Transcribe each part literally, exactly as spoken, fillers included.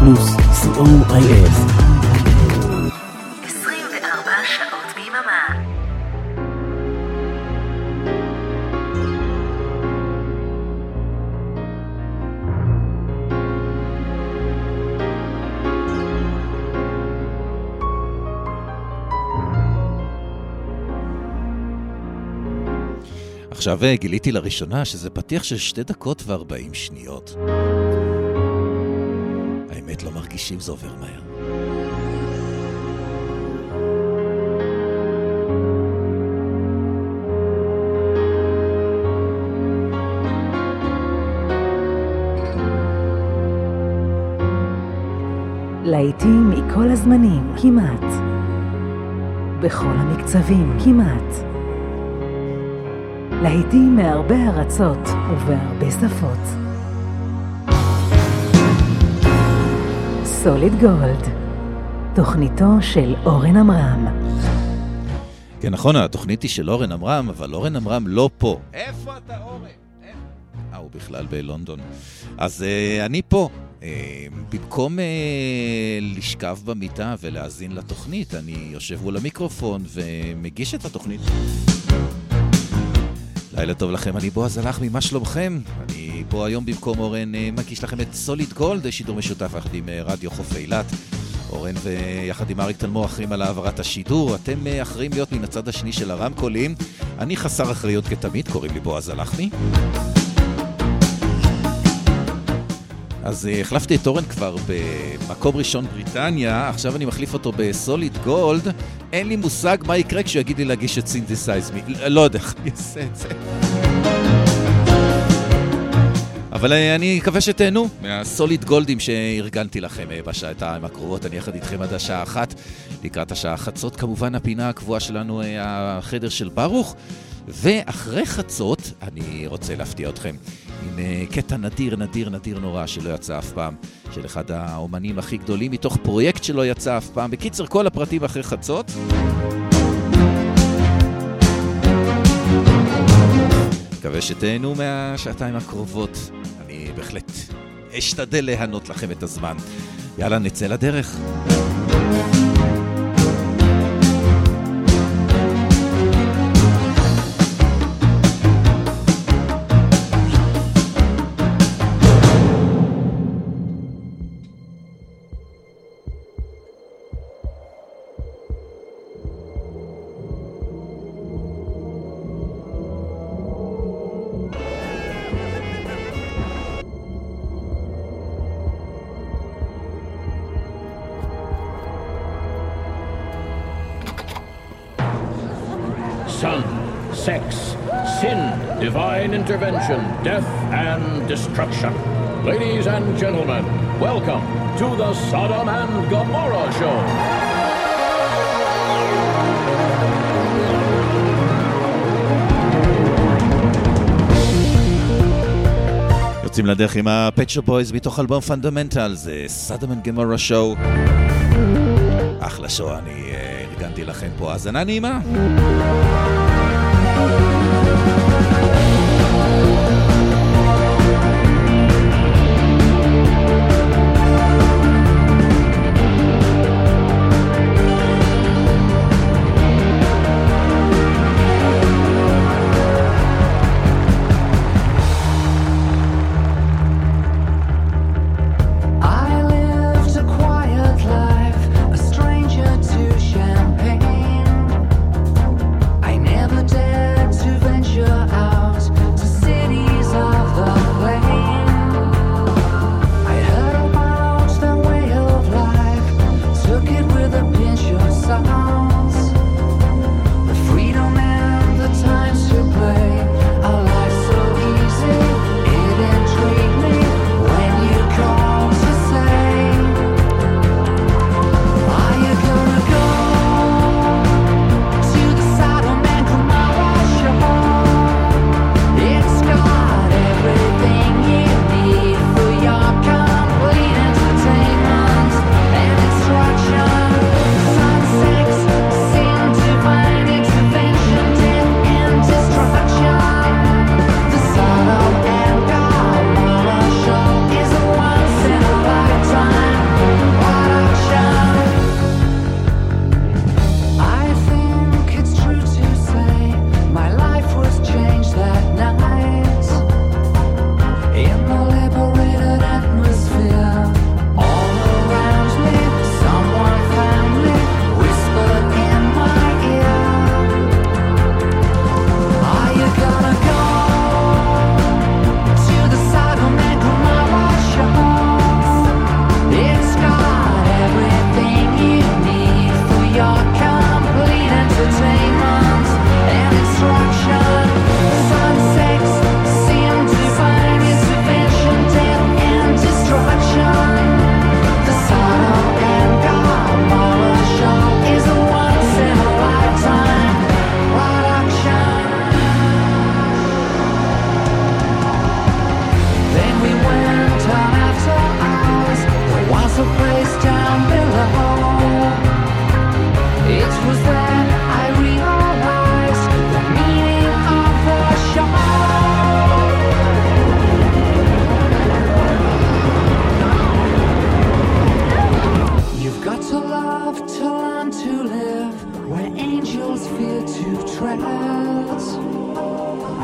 פלוס סי או איי אס. עשרים וארבע שעות ביממה. עכשיו גיליתי לראשונה שזה פתיח של שתי דקות וארבעים שניות. האמת לא מרגישים, זה עובר מהר. להיטים מכל הזמנים, כמעט. בכל המקצבים, כמעט. להיטים מהרבה ארצות ובהרבה שפות. סוליד גולד, תוכניתו של אורן אמרם. כן, נכון, התוכנית היא של אורן אמרם, אבל אורן אמרם לא פה. איפה אתה, אורן? אה, הוא בכלל בלונדון. אז אה, אני פה. אה, במקום אה, לשכב במיטה ולהאזין לתוכנית, אני יושב מול המיקרופון ומגיש את התוכנית. לילה טוב לכם, אני בועז הלחמי, מה שלומכם? אני פה היום במקום אורן מגיש לכם את סוליד גולד, שידור משותף יחד עם רדיו חוף אילת. אורן ויחד עם אריק תלמור אחרים על העברת השידור, אתם אחרים להיות מן הצד השני של הרמקולים. אני חסר אחריות כתמיד, קוראים לי בועז הלחמי. אז החלפתי את אורן כבר במקום ראשון בריטניה, עכשיו אני מחליף אותו בסוליד גולד. אין לי מושג מה יקרה כשהוא יגיד לי להגיש את סינתסייז מי, לא יודע איך אני אעשה את זה. אבל אני מקווה שתהנו מהסוליד גולדים שארגנתי לכם בשעתיים הקרובות. אני יחד איתכם עד השעה אחת, לקראת השעה חצות כמובן הפינה הקבועה שלנו, החדר של ברוך. ואחרי חצות אני רוצה להפתיע אתכם עם קטע נדיר נדיר נדיר נורא שלא יצא אף פעם, של אחד האומנים הכי גדולים מתוך פרויקט שלא יצא אף פעם. בקיצר, כל הפרטים אחרי חצות. מקווה שתהנו מהשעתיים הקרובות. אני בהחלט אשתדל להנות לכם את הזמן. יאללה, נצא לדרך. Sun, sex, sin, divine intervention, death and destruction. Ladies and gentlemen, welcome to the Sodom and Gomorrah Show. יוצאים לדרך עם ה-Pet Shop Boys מתוך אלבום פונדמנטל, זה Sodom and Gomorrah Show. אחלה שואו, אני ארגנתי לכם פה האזנה נעימה. I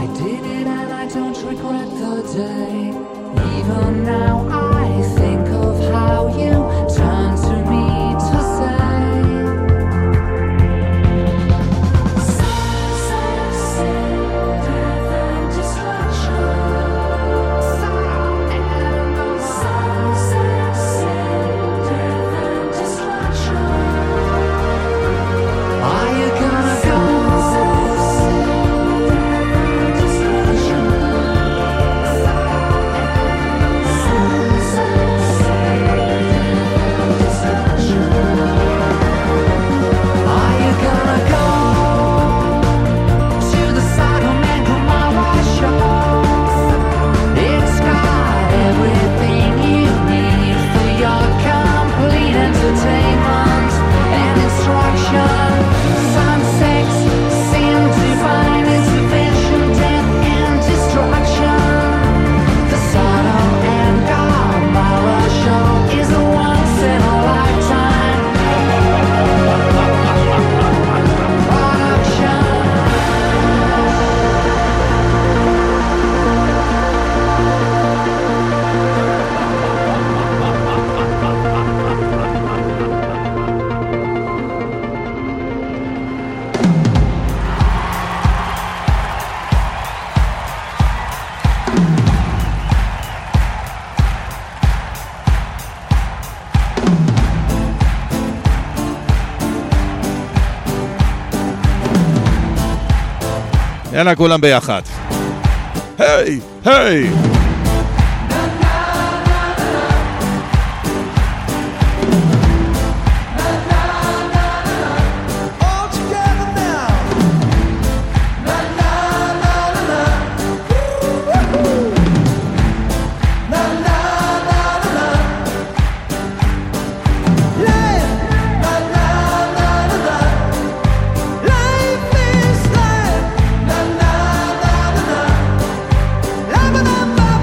I did it and I don't regret the day. Even now I think of how you turned to me to say יאללה, כולם ביחד. היי, היי! Ba-ba-ba-ba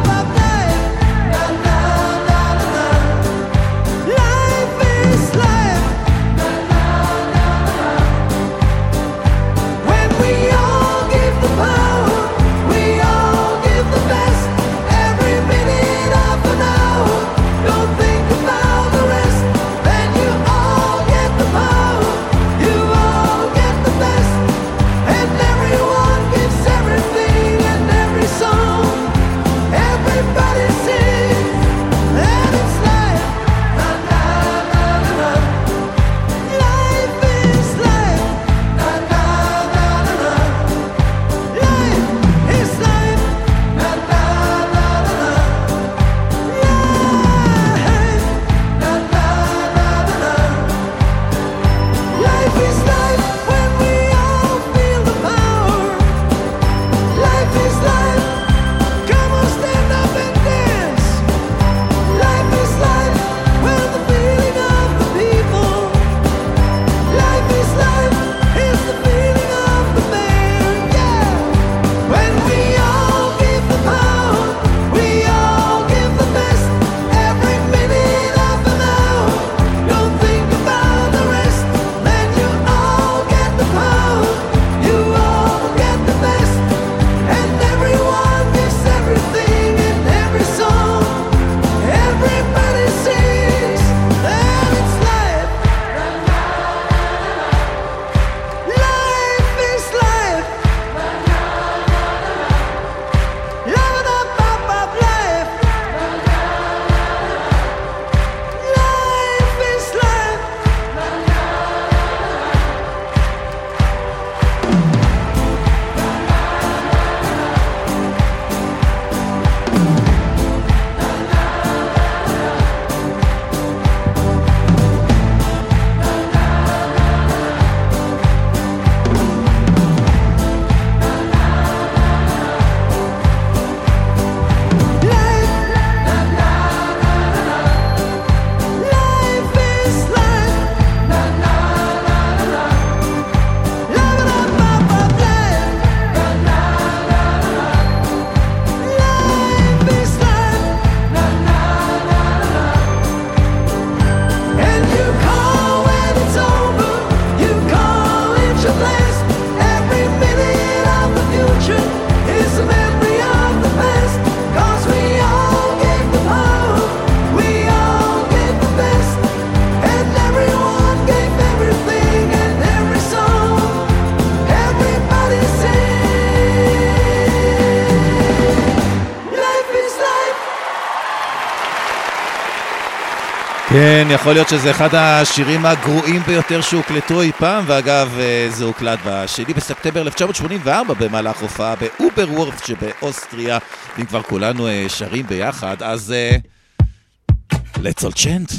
כן, יכול להיות שזה אחד השירים הגרועים ביותר שהוקלטו אי פעם, ואגב, זה הוקלט בשני בספטמבר אלף תשע מאות שמונים וארבע במהלך הופעה באוברוורף שבאוסטריה. אם כבר כולנו שרים ביחד, אז let's all chant.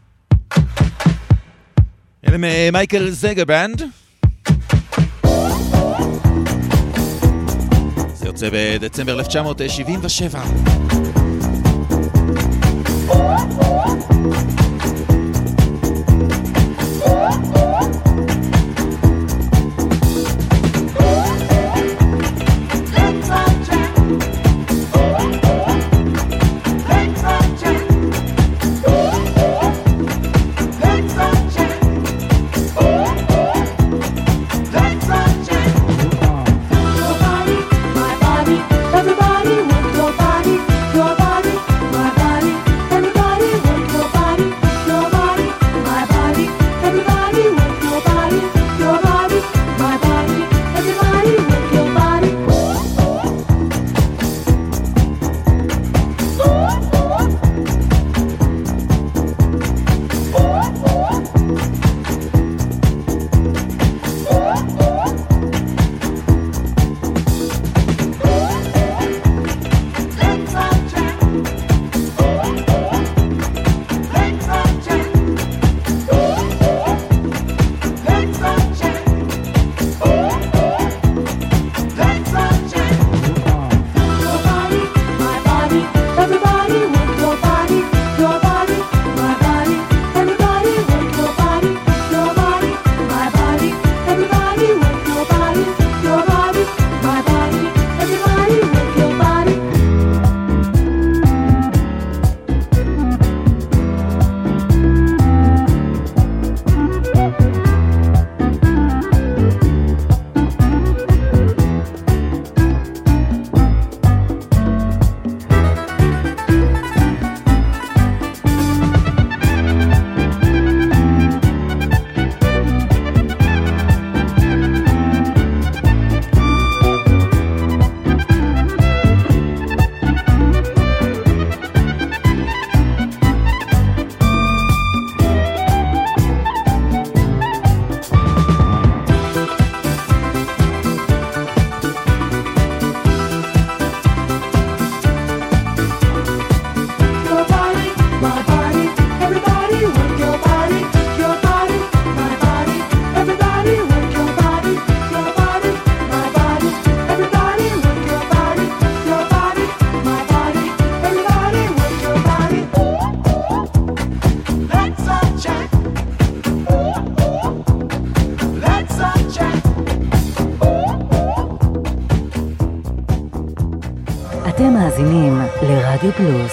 אלה מייקל זגרבנד. זה יוצא בדצמבר אלף תשע מאות שבעים ושבע. אתם מאזינים לרדיו פלוס.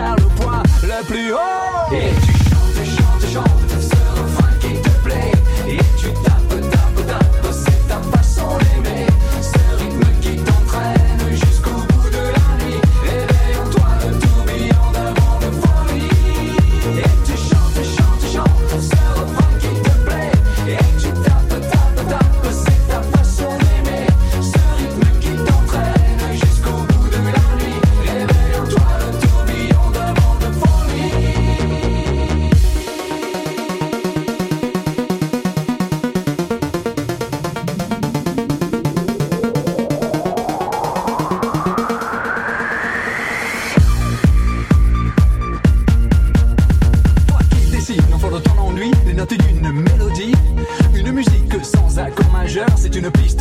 plus haut. Et tu chantes, tu chantes, tu chantes ce refrain qui te plaît. Et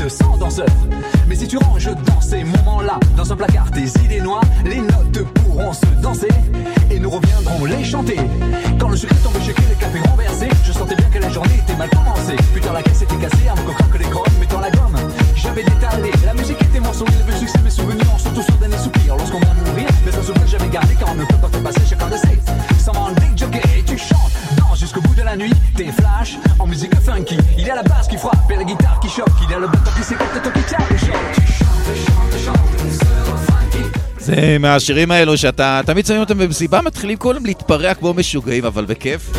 sans danseur. Mais si tu ranges dans ces moments-là, dans un placard tes idées noires, les notes pourront se danser et nous reviendrons les chanter. Quand le sucre est tombé, shaké, les cafés renversés, je sentais bien que la journée était mal commencée. Putain, la caisse était cassée, un peu que les chromes, mettant la gomme. J'avais détalé, la musique était mon sourire, le succès, mes souvenirs, surtout sur derniers soupirs. Lorsqu'on va mourir, mais un souvenir que j'avais gardé quand on ne peut pas te passer chacun de ses. Sans dès jockey, tu chantes, danse jusqu'au bout de la nuit, t'es flash en musique funky. Il y a la basse qui frappe et la guitare qui choque, il y a le batteur qui s'écoute et toi qui tient le chant. Tu chantes, chantes, chantes, c'est funky. זה מהשירים האלו שאתה תמיד שמים אותם במסיבה, מתחילים כולם להתפרע כמו משוגעים, אבל בכיף.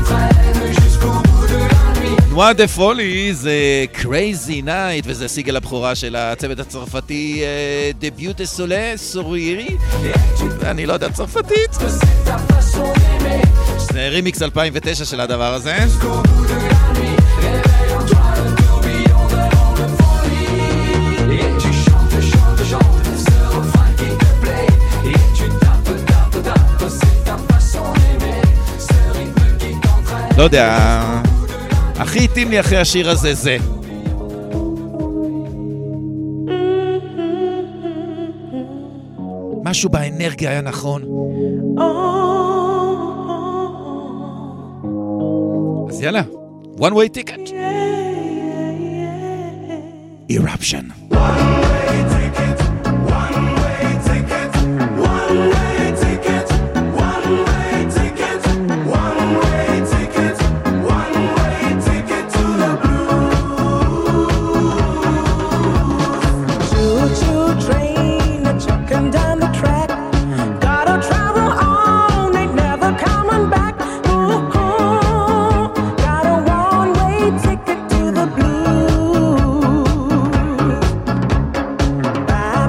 נועה דה פולי זה Crazy Night, וזה סיגל הבכורה של הצוות הצרפתי דביוט דה סולה סוריירי, ואני לא יודע צרפתית. זה רימיקס אלפיים ותשע של הדבר הזה. לא יודע, הכי התאים לי אחרי השיר הזה זה משהו באנרגיה היה נכון. אז יאללה, one way ticket. Eruption. One way ticket, one way ticket, one way ticket, one way ticket, one way ticket, one way ticket to the blues. Choo-choo train, a chucking down the track. Gotta travel on, ain't never coming back. Ooh, ooh, got a one-way ticket to the blues. Bye.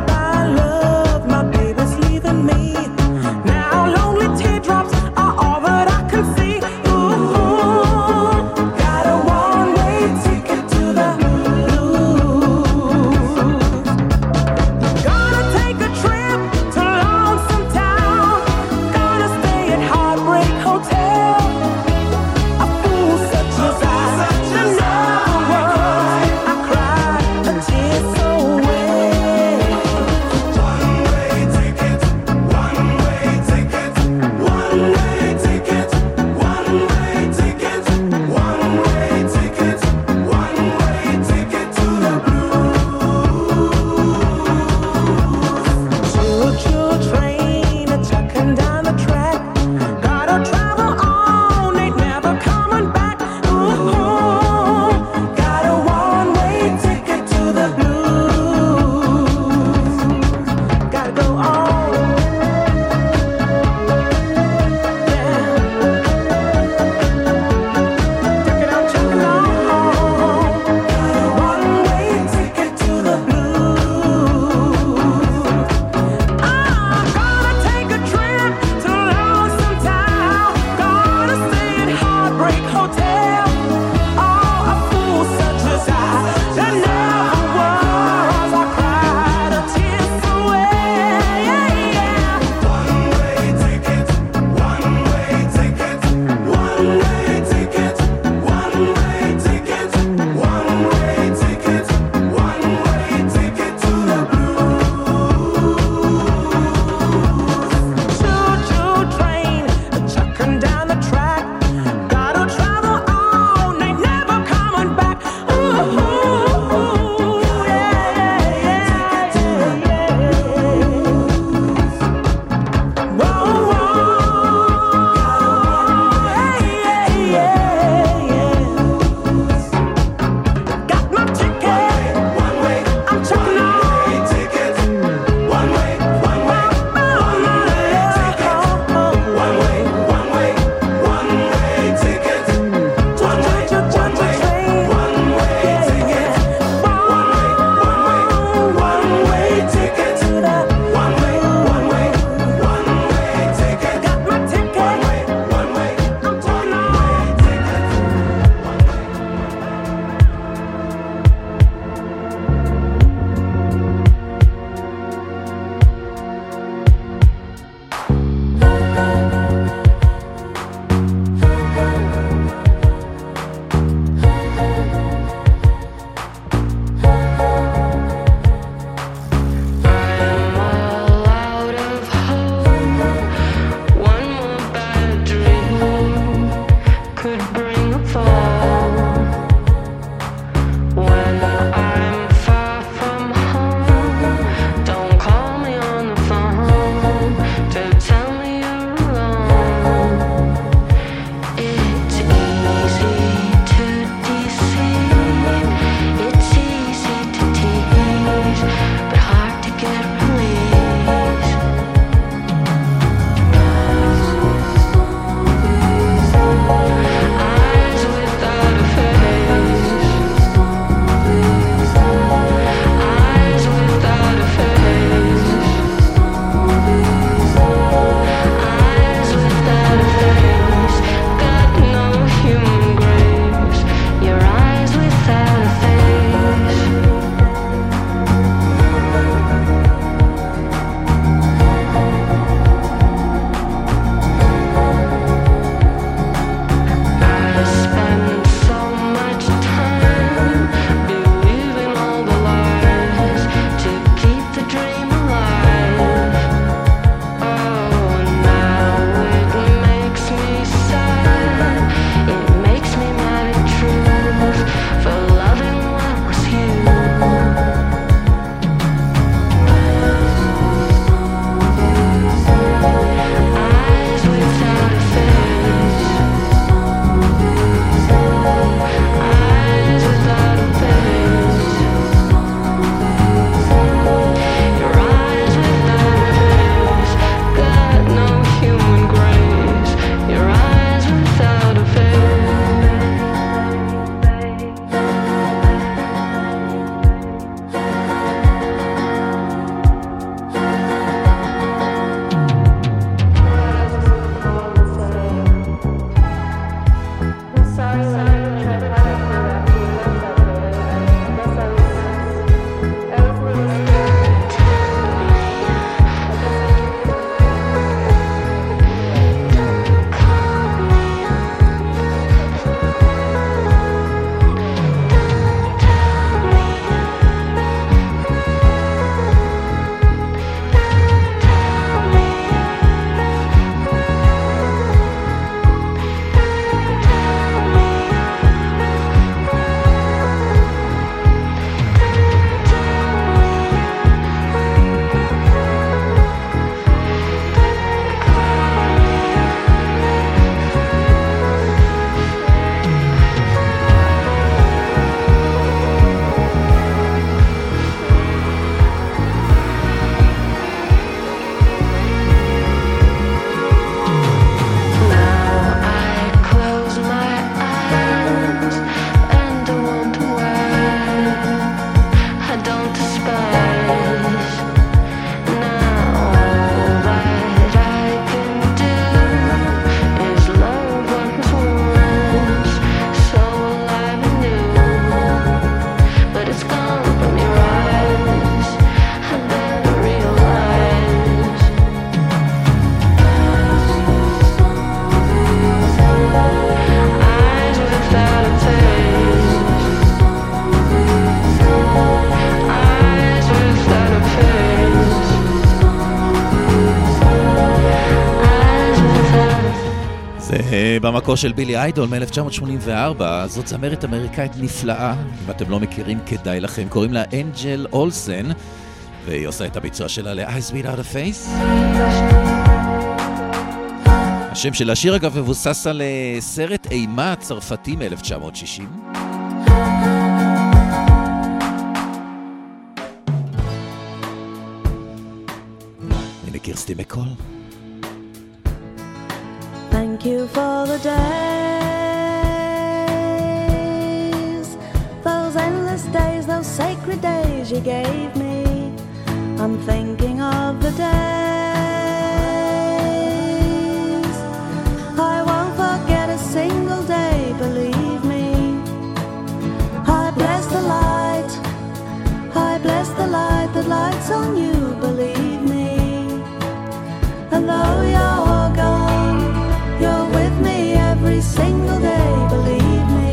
זה במקור של בילי איידול מ-אלף תשע מאות שמונים וארבע, זאת זמרת אמריקאית נפלאה, אם אתם לא מכירים כדאי לכם, קוראים לה אנג'ל אולסן, והיא עושה את הביצוע שלה ל-Eyes Without a Face. השם של השיר אגב מבוסס על סרט אימה צרפתי מ-אלף תשע מאות שישים. הנה קירסטי מקול. Thank you for the days, those endless days, those sacred days you gave me. I'm thinking of the days I won't forget a single day, believe me. I bless the light, I bless the light that lights on you, believe me. And though you're gone, you're with me every single day, believe me.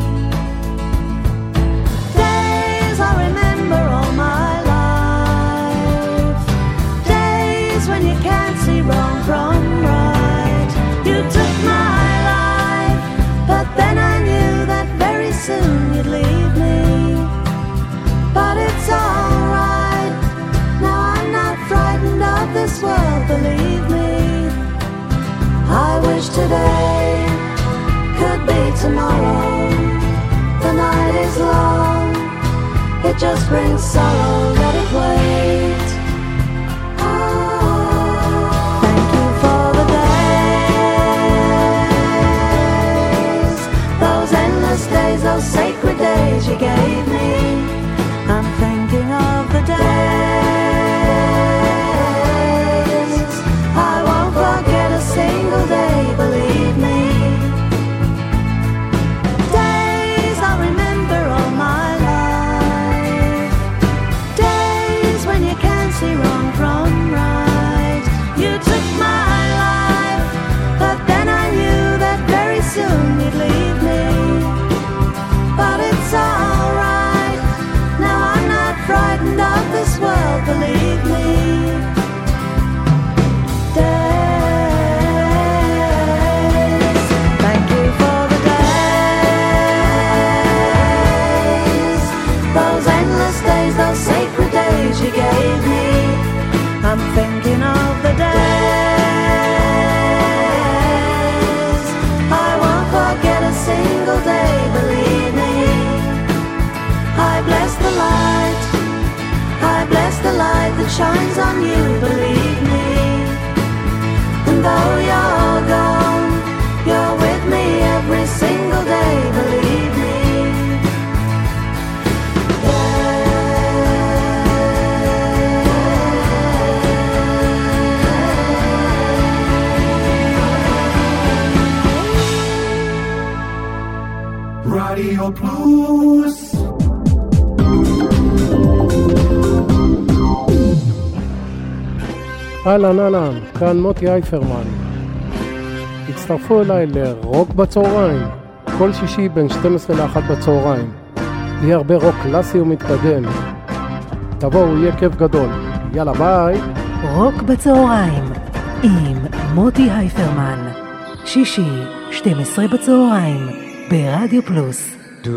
Days I remember all my life, days when you can't see wrong from right. You took my life, but then I knew that very soon you'd leave me. But it's alright, now I'm not frightened of this world, believe me. I wish today could be tomorrow. The night is long, it just brings sorrow, let it wait. Thank you for the days, those endless days, those sacred days you gave me. I'm thinking of the days I won't forget a single day, believe me. Days I remember all my life, days when you can't see wrong from right. You took my life, but then I knew that very soon you'd leave me. But it's alright, now I'm not frightened of this world, believe me. You gave me, I'm thinking of the days I won't forget a single day, believe me. I bless the light, I bless the light that shines on you, believe me. And though you're gone, you're with me every single day, believe me. רדיו פלוס. אהלן אהלן, כאן מוטי אייפרמן. הצטרפו אליי לרוק בצהריים, כל שישי בין שתים עשרה לאחת בצהריים. יהיה הרבה רוק קלאסי ומתקדם. תבואו, יהיה כיף גדול. יאללה ביי. רוק בצהריים עם מוטי אייפרמן, שישי שתים עשרה בצהריים ברדיו פלוס.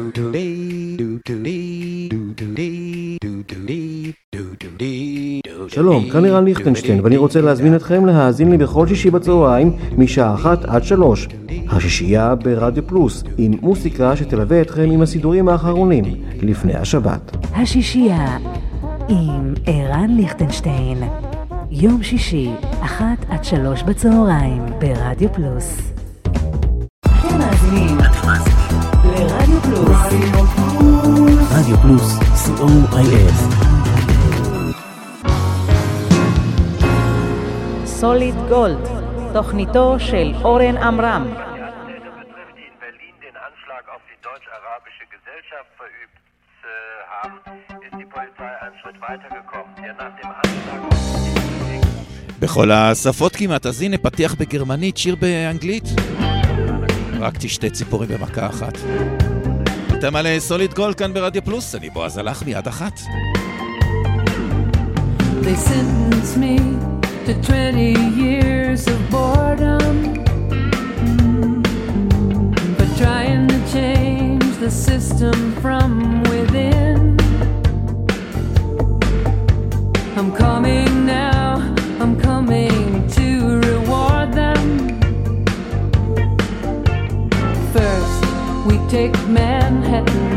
שלום, כאן אירן ליכטנשטיין, ואני רוצה להזמין אתכם להאזין לי בכל שישי בצהריים משעה אחת עד שלוש. השישייה ברדיו פלוס, עם מוסיקה שתלווה אתכם עם הסידורים האחרונים לפני השבת. השישייה עם אירן ליכטנשטיין, יום שישי אחת עד שלוש בצהריים ברדיו פלוס. אתם מאזינים לרדיו פלוס. רדיו פלוס, סי או איי אס. סוליד גולד, תוכניתו של אורן עמרם. בכל השפות כמעט, אז הנה פתיח בגרמנית, שיר באנגלית. רק תשתה ציפורים במכה אחת. אתם על סוליד גולד כאן ברדיו פלוס, אני בועז הלך מיד אחת. They sentence me to twenty years of boredom. wisdom from within. I'm coming now, I'm coming to reward them. First, we take Manhattan,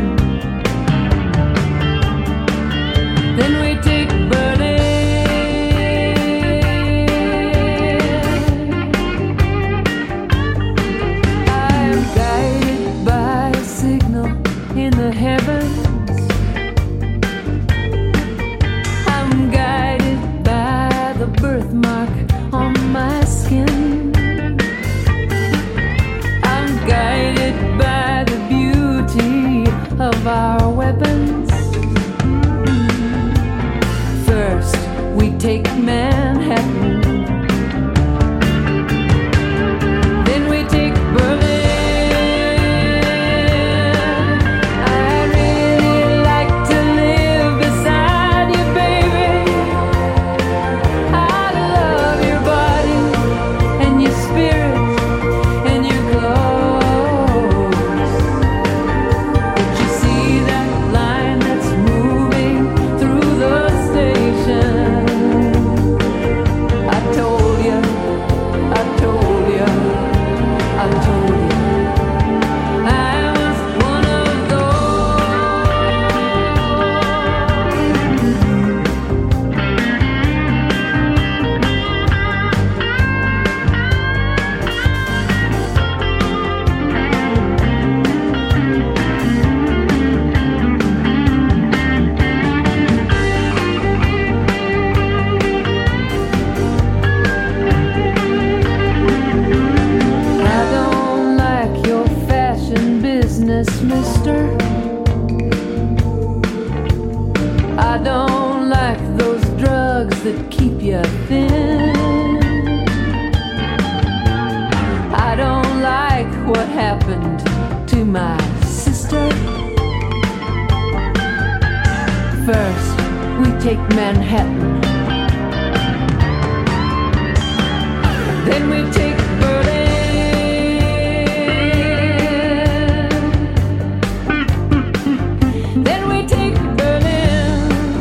then we take Berlin. I'm guided by a signal in the heavens. I'm guided by the birthmark on my skin. I'm guided by the beauty of our weapons. First, we take Manhattan, then we take Berlin. I'd really like to live beside you, baby. I love your body and your spirit and your clothes. But you see that line that's moving through the station? I told you, I told you, I told you I was one of those. I don't like your fashion business, mister. I don't like those drugs that keep you thin. I don't like what happened to my sister. First, we take Manhattan, then we take Berlin. Then we take Berlin.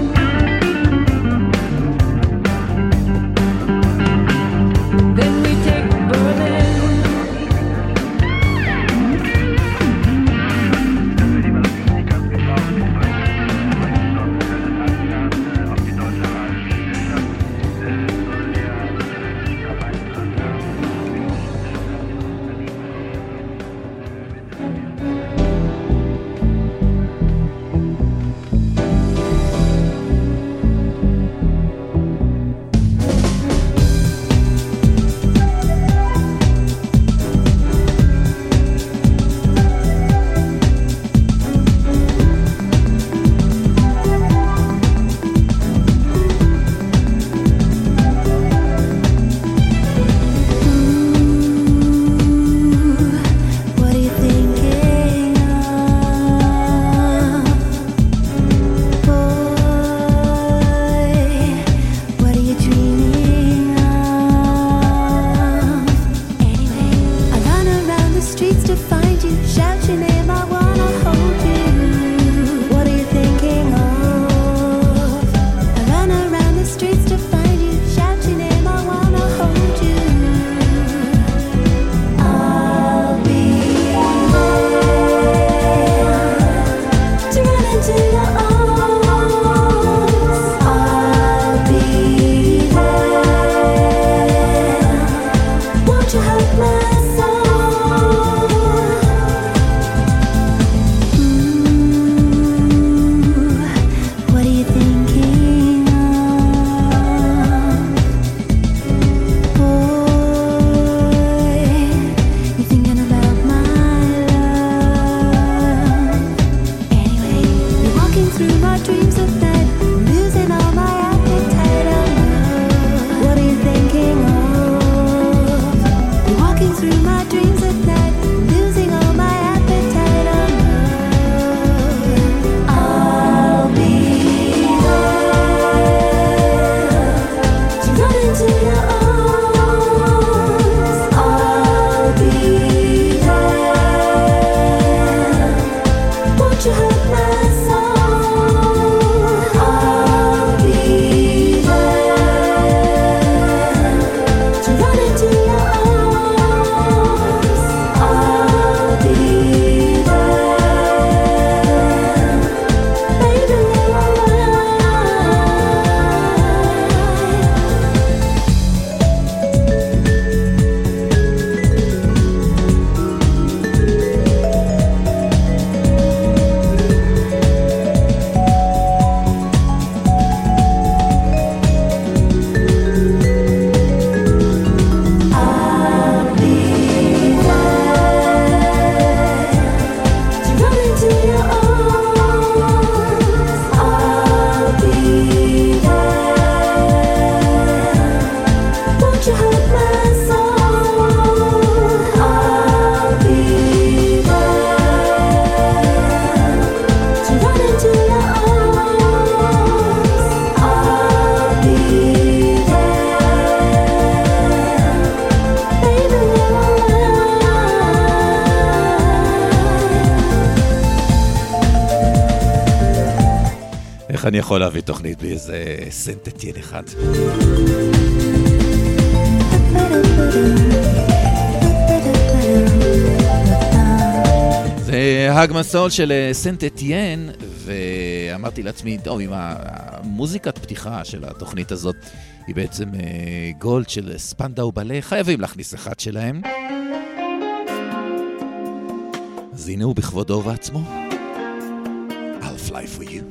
Then we take Berlin. איך אני יכול להביא תוכנית בלי איזה סנטטיין אחד? זה הגמסול של סנטטיין, ואמרתי לעצמי, טוב, עם המוזיקת פתיחה של התוכנית הזאת, היא בעצם גולד של ספנדאו בלה, חייבים להכניס אחד שלהם. אז הנה הוא בכבודו ובעצמו. I'll fly for you.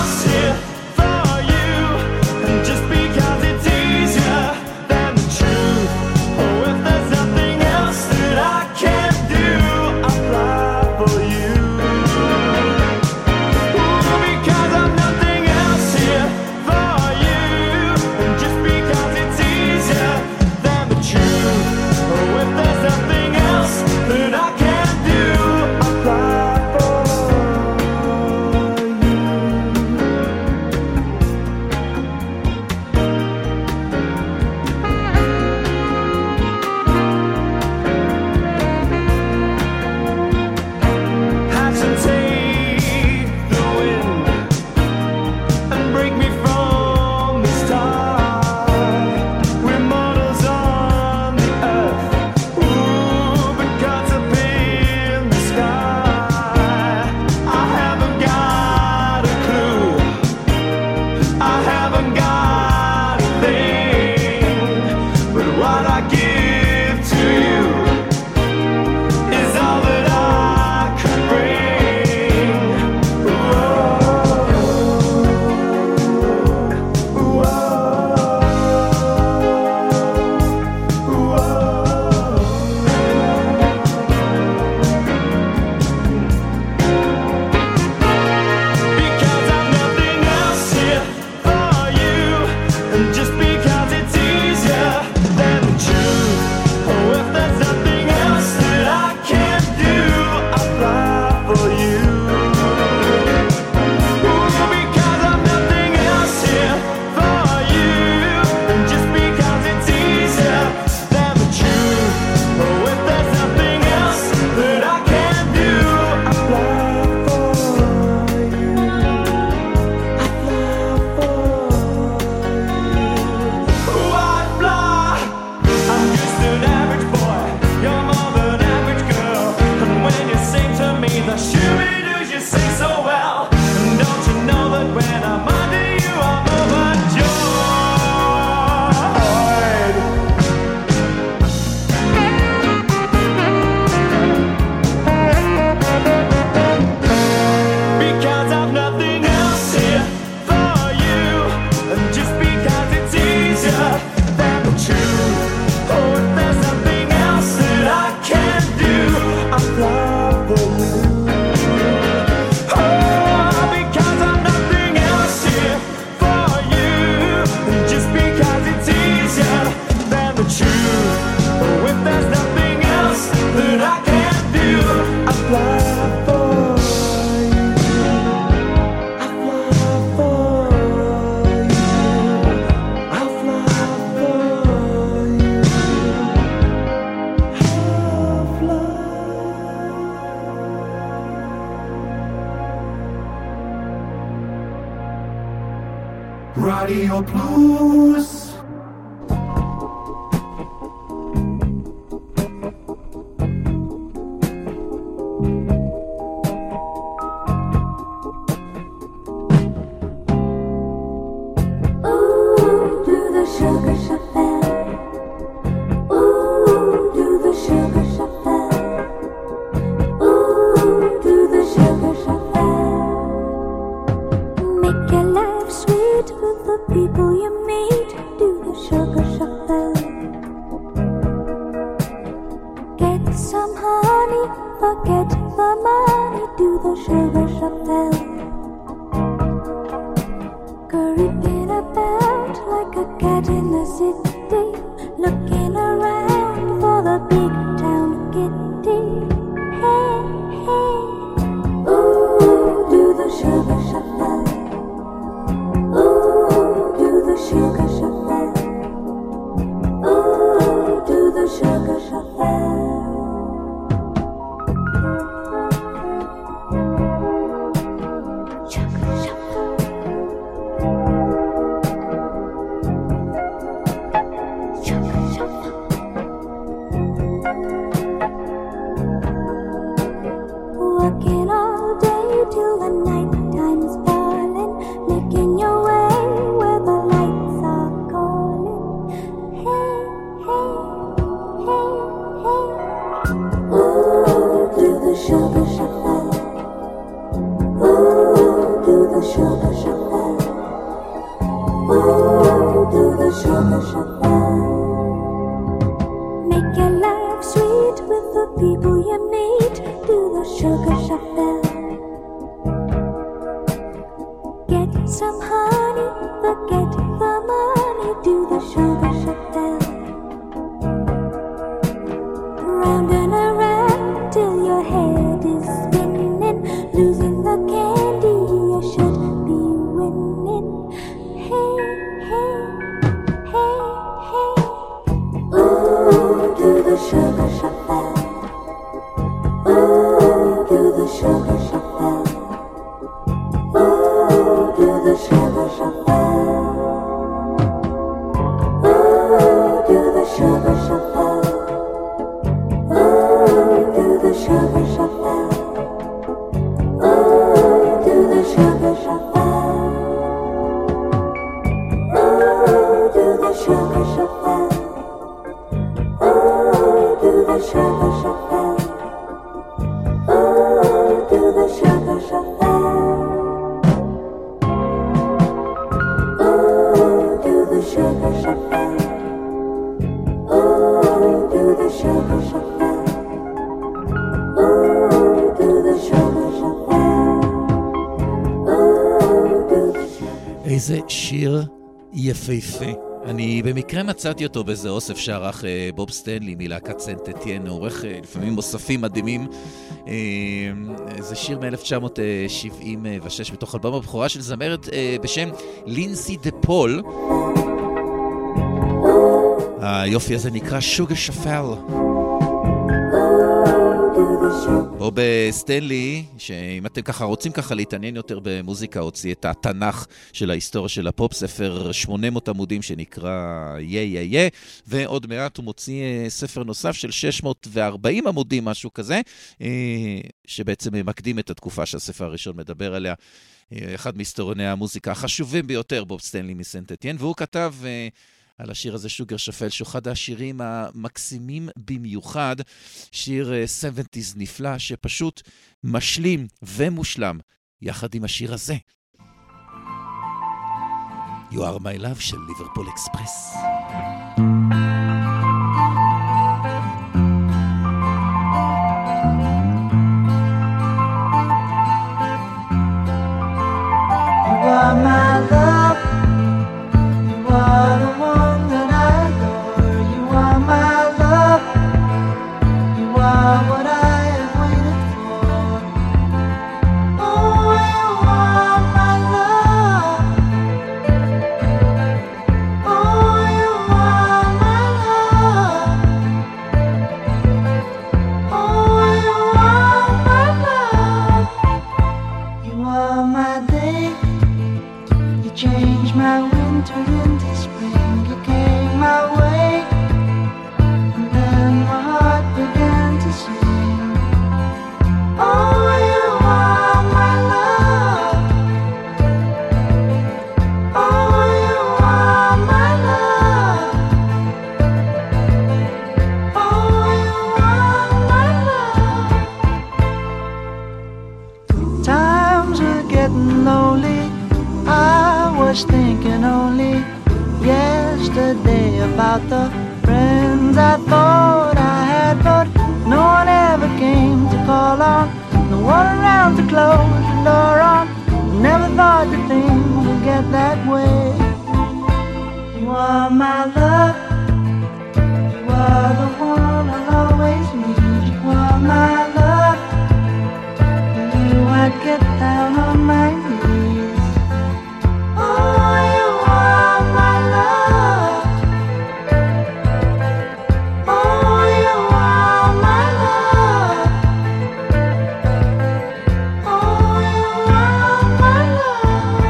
Just because it's easier than the truth. רדיו פלוס. איזה שיר יפהפה. אני במקרה מצאתי אותו באיזה אוסף שערך בוב סטנלי מלהקת סנט אתיין, עורך לפעמים מוספים מדהימים. זה שיר מ-אלף תשע מאות שבעים ושש בתוך אלבום הבכורה של זמרת בשם לינסי דה פול. היופי הזה נקרא שוגר שפל. בוב סטנלי, שאם אתם ככה רוצים ככה להתעניין יותר במוזיקה, הוציא את התנ"ך של ההיסטוריה של הפופ, ספר שמונה מאות עמודים שנקרא יה יה יה, ועוד מעט הוא מוציא ספר נוסף של שש מאות וארבעים עמודים, משהו כזה, שבעצם מקדים את התקופה שהספר הראשון מדבר עליה. אחד מהיסטוריוני המוזיקה החשובים ביותר, בוב סטנלי מסנט אתיין, והוא כתב על השיר הזה שוגר שפל, שהוא אחד השירים המקסימים במיוחד, שיר שבעים נפלא, שפשוט משלים ומושלם יחד עם השיר הזה. You are my love של ליברפול אקספרס. You are my love, you are the one that I adore. You are my love, you are what I have waited for. Oh, you are my love, oh, you are about the friends I thought I had, but no one ever came to call on, no one around to close the door on. Never thought that things would get that way. You are my love, you are the one I'll always need. You are my love, and you I'd get down on my knees. Oh, you are my love. Oh, you are my love. Oh, you are my love.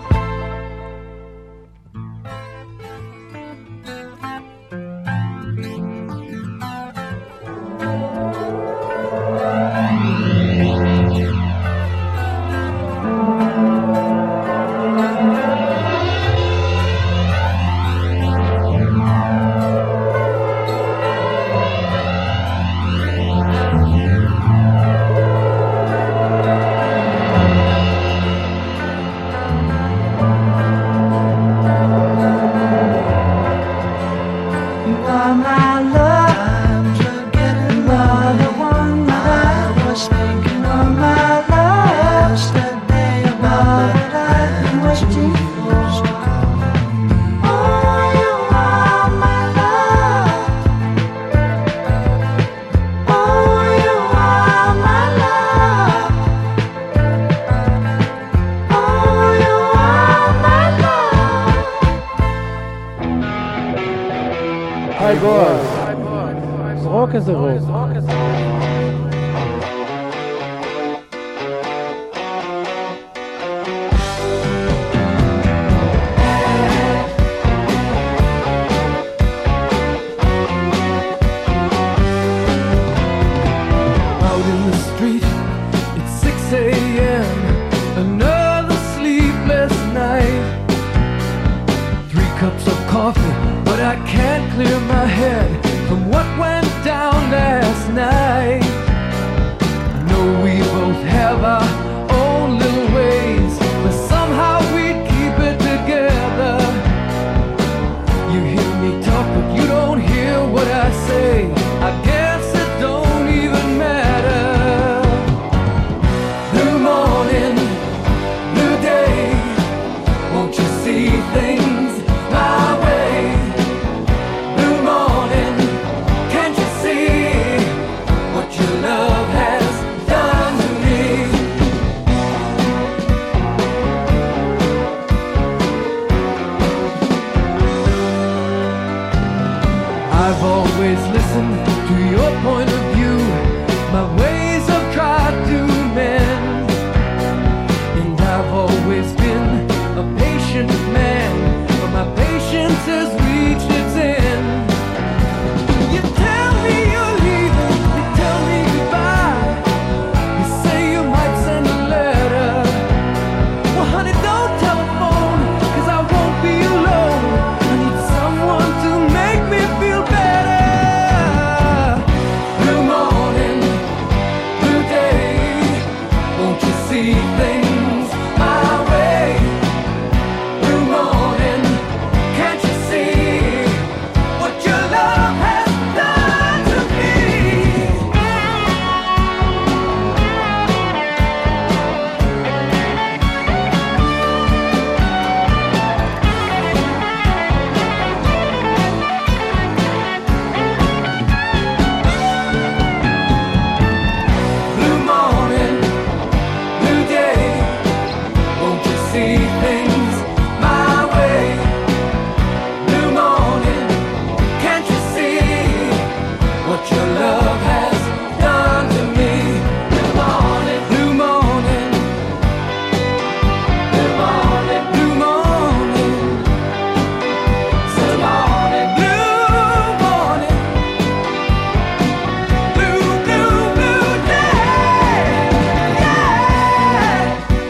You are my love. I'm forgetting you are the one that I was thinking of. My love, yesterday about that I've been waiting for. Oh, you are my love. Oh, you are my love. Oh, you are my love. היי בועז, זרוק איזה רוק. Out in the street, it's six a.m. Another sleepless night. Three cups of coffee, but I can't clear my head from what went down last night. I know we both have our own little ways, but somehow we keep it together. You hear me talk, but you don't hear what I say. I guess it don't even matter. New morning, new day. Won't you see things my way? New morning, can't you see what your love has done to me? I've always listened to your point of view. My ways I've tried to mend, and I've always been a patient man, but my patience has reached its end. You tell me you're leaving, you tell me goodbye. You say you might send a letter. Well, honey, don't telephone, 'cause I won't be alone. I need someone to make me feel better. New morning, new day. Won't you see things my way? New morning, can't you see what your love has done to me? New morning, new day. Won't you see things my way? New morning, can't you see what your love has done to me? New morning, new morning, new morning, new morning, new morning, new morning, new, new, new day. Yeah.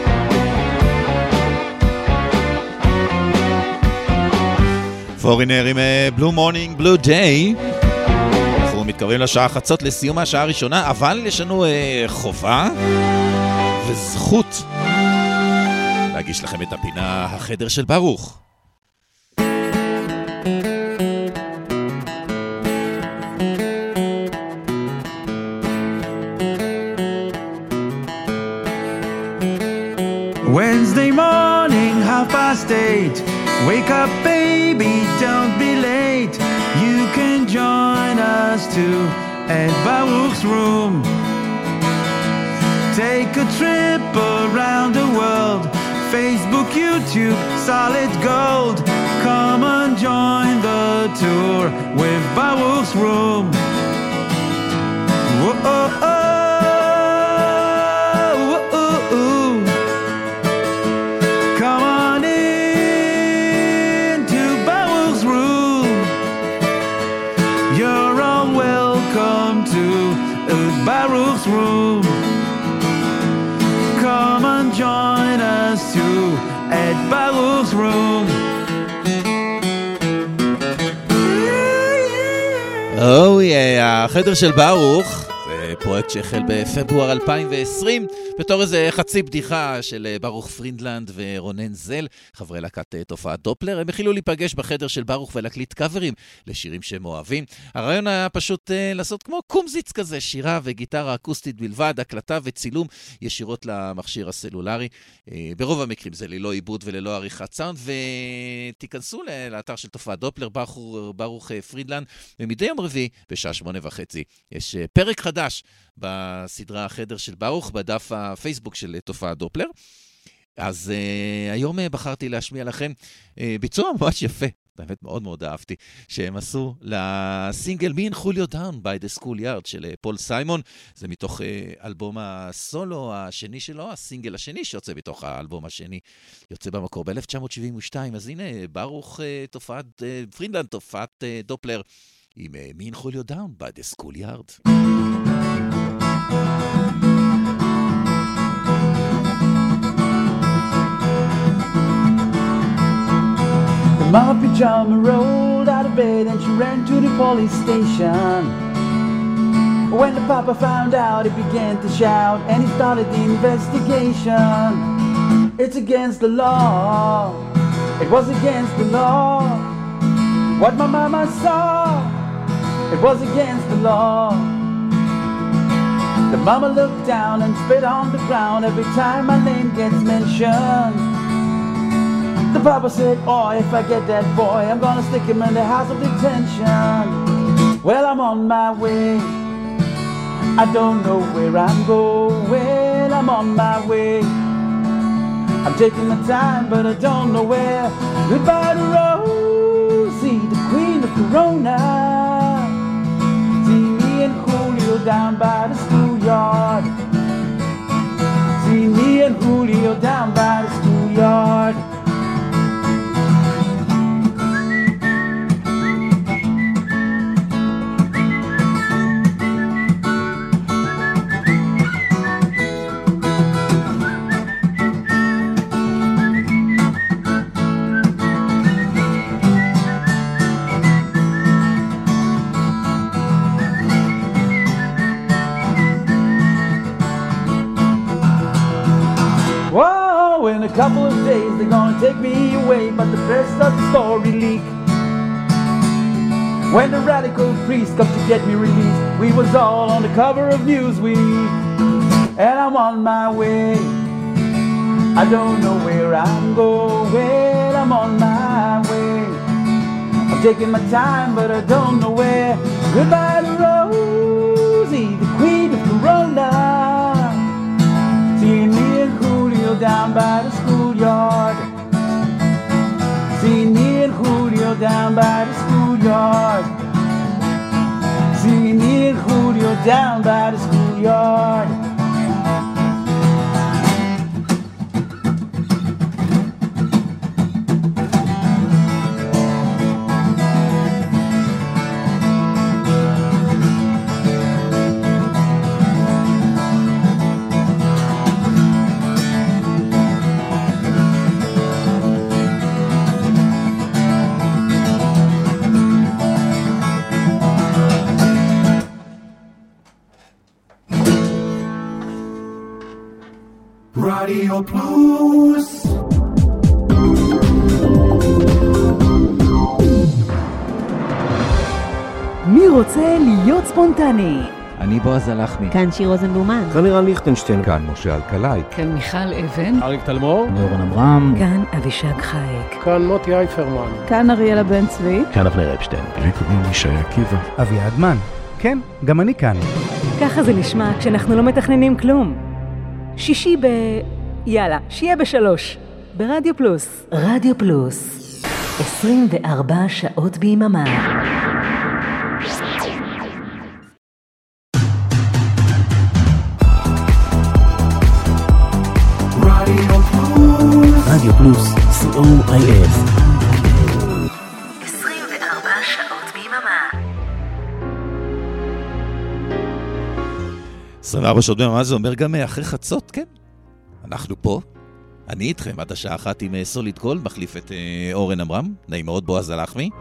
פורינר עם בלו מורנינג בלו דיי. אנחנו מתקרבים לשעה חצות לסיום השעה הראשונה, אבל יש לנו אה, חובה וזכות להגיש לכם את הפינה החדר של ברוך. state. Wake up, baby, don't be late. You can join us too at Baruch's room. Take a trip around the world. Facebook, YouTube, solid gold. Come and join the tour with Baruch's room. Whoa, oh, oh. Baruch's room. Come and join us too at Baruch's room. Oh yeah, החדר של ברוך זה פרויקט שהחל בפברואר אלפיים ועשרים בתור איזה חצי בדיחה של ברוך פרינדלנד ורונן זל, חברי להקת תופעת דופלר. הם החילו להיפגש בחדר של ברוך ולהקליט קאברים לשירים שהם אוהבים. הרעיון היה פשוט uh, לעשות כמו קומזיץ כזה, שירה וגיטרה אקוסטית בלבד, הקלטה וצילום ישירות למכשיר הסלולרי. Uh, ברוב המקרים זה ללא עיבוד וללא עריכת סאונד, ותיכנסו לאתר של תופעת דופלר, ברוך, ברוך פרינדלנד, ומדי יום רביעי בשעה שמונה וחצי יש uh, פרק חדש בסדרה החדר של ברוך, בדף הפייסבוק של תופעת דופלר. אז uh, היום uh, בחרתי להשמיע לכם uh, ביצוע ממש יפה, באמת מאוד מאוד אהבתי, שהם עשו לסינגל Me and Julio Down by the Schoolyard של uh, פול סיימון. זה מתוך uh, אלבום הסולו השני שלו, הסינגל השני שיוצא בתוך האלבום השני, יוצא במקור ב-אלף תשע מאות שבעים ושתיים. אז הנה, ברוך uh, תופעת, uh, פרינדלנד תופעת uh, דופלר, עם uh, Me and Julio Down by the Schoolyard. Mama Pajama rolled out of bed and she ran to the police station. When the papa found out, he began to shout and he started the investigation. It's against the law. It was against the law. What my mama saw, it was against the law. The mama looked down and spit on the ground every time my name gets mentioned. The papa said, oh, if I get that boy, I'm gonna stick him in the house of detention. Well, I'm on my way. I don't know where I'm going. I'm on my way. I'm taking my time, but I don't know where. Goodbye to Rosie, the queen of Corona. See me and Julio down by the schoolyard. See me and Julio down by the schoolyard. In a couple of days they're gonna take me away, but the rest of the story leak. When the radical priest come to get me released, we was all on the cover of Newsweek. And I'm on my way. I don't know where I'm going. I'm on my way. I'm taking my time, but I don't know where. Goodbye to Rosie, the queen of Corona. See me and Julio down by the schoolyard. See me and Julio down by the schoolyard. See me and Julio down by the schoolyard. Radio Plus. מי רוצה להיות ספונטני? אני בועז הלחמי. כאן שיר רוזנבלומן. כאן לירן ליכטנשטיין. כאן משה אלקלעי. כאן מיכל אבן. אריק תלמור. אורן אברהם. כאן אבישג חייק. כאן מוטי אייפרמן. כאן אריאלה בן צבי. כאן אבנר אפשטיין. לי קוראים ישי עקיבא. אביעד מן. כן, גם אני כאן. ככה זה נשמע כשאנחנו לא מתכננים כלום. שישי ב... יאללה, שיהיה בשלוש. ברדיו פלוס. רדיו פלוס. עשרים וארבע שעות ביממה. רדיו פלוס, סי או איי אס. עשרים וארבע שעות ביממה. עשרים וארבע שעות ביממה זה אומר גם אחרי חצות, כן? אנחנו פה. אני איתכם עד השעה אחת עם סוליד גולד, מחליף את אורן אברהם. נעים מאוד, בועז הלחמי.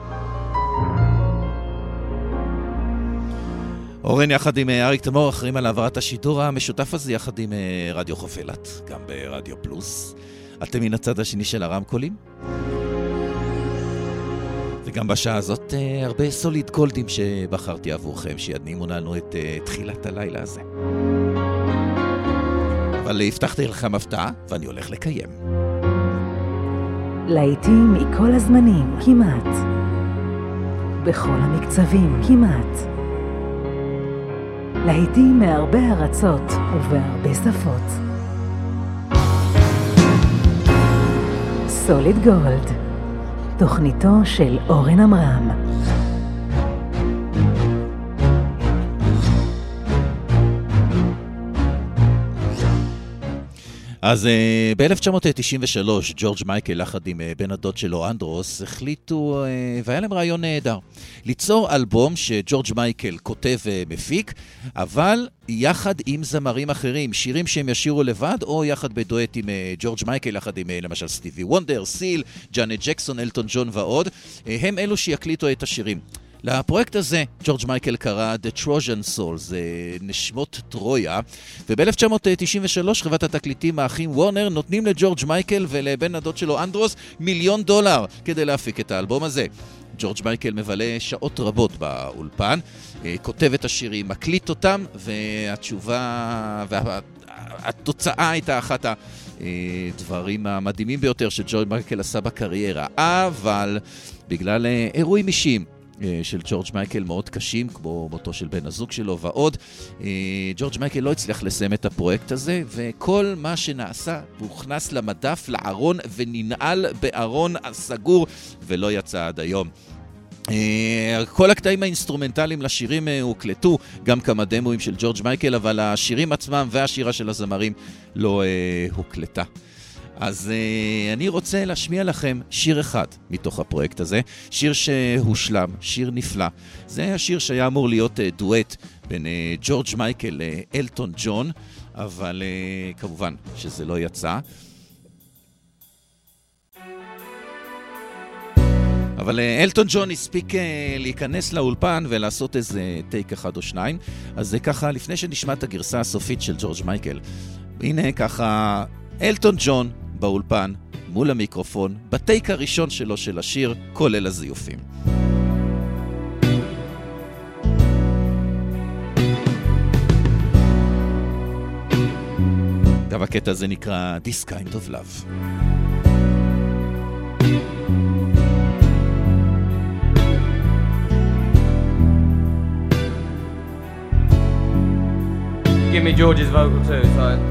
אורן יחד עם אריק תלמור אחרים על העברת השידור המשותף הזה יחד עם רדיו חוף אילת, גם ברדיו פלוס. אתם מן הצד השני של הרמקולים. וגם בשעה הזאת הרבה סוליד גולדים שבחרתי עבורכם, שידנימו לנו את תחילת הלילה הזה. אבל הבטחתי לכם הפתעה, ואני הולך לקיים. לעיתים מכל הזמנים, כמעט. בכל המקצבים, כמעט. לעיתים מהרבה ארצות ובהרבה שפות. סוליד גולד, תוכניתו של אורן אברהם. אז uh, ב-אלף תשע מאות תשעים ושלוש ג'ורג' מייקל יחד עם uh, בן הדוד שלו אנדרוס החליטו, uh, והיה להם רעיון נהדר, ליצור אלבום שג'ורג' מייקל כותב ומפיק, אבל יחד עם זמרים אחרים, שירים שהם ישירו לבד או יחד בדואט עם uh, ג'ורג' מייקל, יחד עם uh, למשל סטיבי וונדר, סיל, ג'אנט ג'קסון, אלטון ג'ון ועוד, uh, הם אלו שיקליטו את השירים. לפרויקט הזה ג'ורג' מייקל קרא The Trojan Soul, זה נשמות טרויה, וב-אלף תשע מאות תשעים ושלוש חברת התקליטים האחים וורנר נותנים לג'ורג' מייקל ולבן הדוד שלו אנדרוס מיליון דולר כדי להפיק את האלבום הזה. ג'ורג' מייקל מבלה שעות רבות באולפן, כותב את השירים, מקליט אותם, והתשובה והתוצאה הייתה אחת הדברים המדהימים ביותר שג'ורג' מייקל עשה בקריירה, אבל בגלל אירועים אישיים של ג'ורג' מייקל מאוד קשים, כמו מותו של בן הזוג שלו ועוד, ג'ורג' מייקל לא הצליח לסיים את הפרויקט הזה, וכל מה שנעשה הוכנס למדף, לארון, וננעל בארון הסגור, ולא יצא עד היום. כל הקטעים האינסטרומנטליים לשירים הוקלטו, גם כמה דמוים של ג'ורג' מייקל, אבל השירים עצמם והשירה של הזמרים לא הוקלטה. אז uh, אני רוצה להשמיע לכם שיר אחד מתוך הפרויקט הזה, שיר שהושלם, שיר נפלא. זה השיר שהיה אמור להיות uh, דואט בין uh, ג'ורג' מייקל לאלטון ג'ון, אבל uh, כמובן שזה לא יצא. אבל uh, אלטון ג'ון הספיק uh, להיכנס לאולפן ולעשות איזה טייק אחד או שניים, אז זה ככה לפני שנשמע את הגרסה הסופית של ג'ורג' מייקל. הנה ככה אלטון ג'ון באולפן, מול המיקרופון, בטייק הראשון שלו של השיר, כולל הזיופים. גם הקטע הזה נקרא This Kind of Love. Give me George's vocal too, so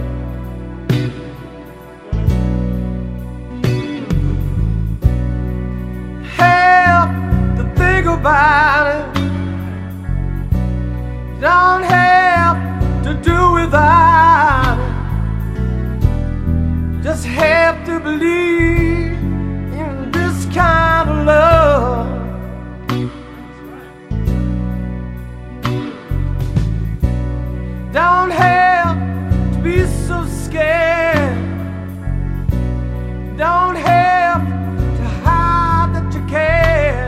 about it, don't have to do without it, just have to believe in this kind of love. Don't have to be so scared, don't have to hide that you care,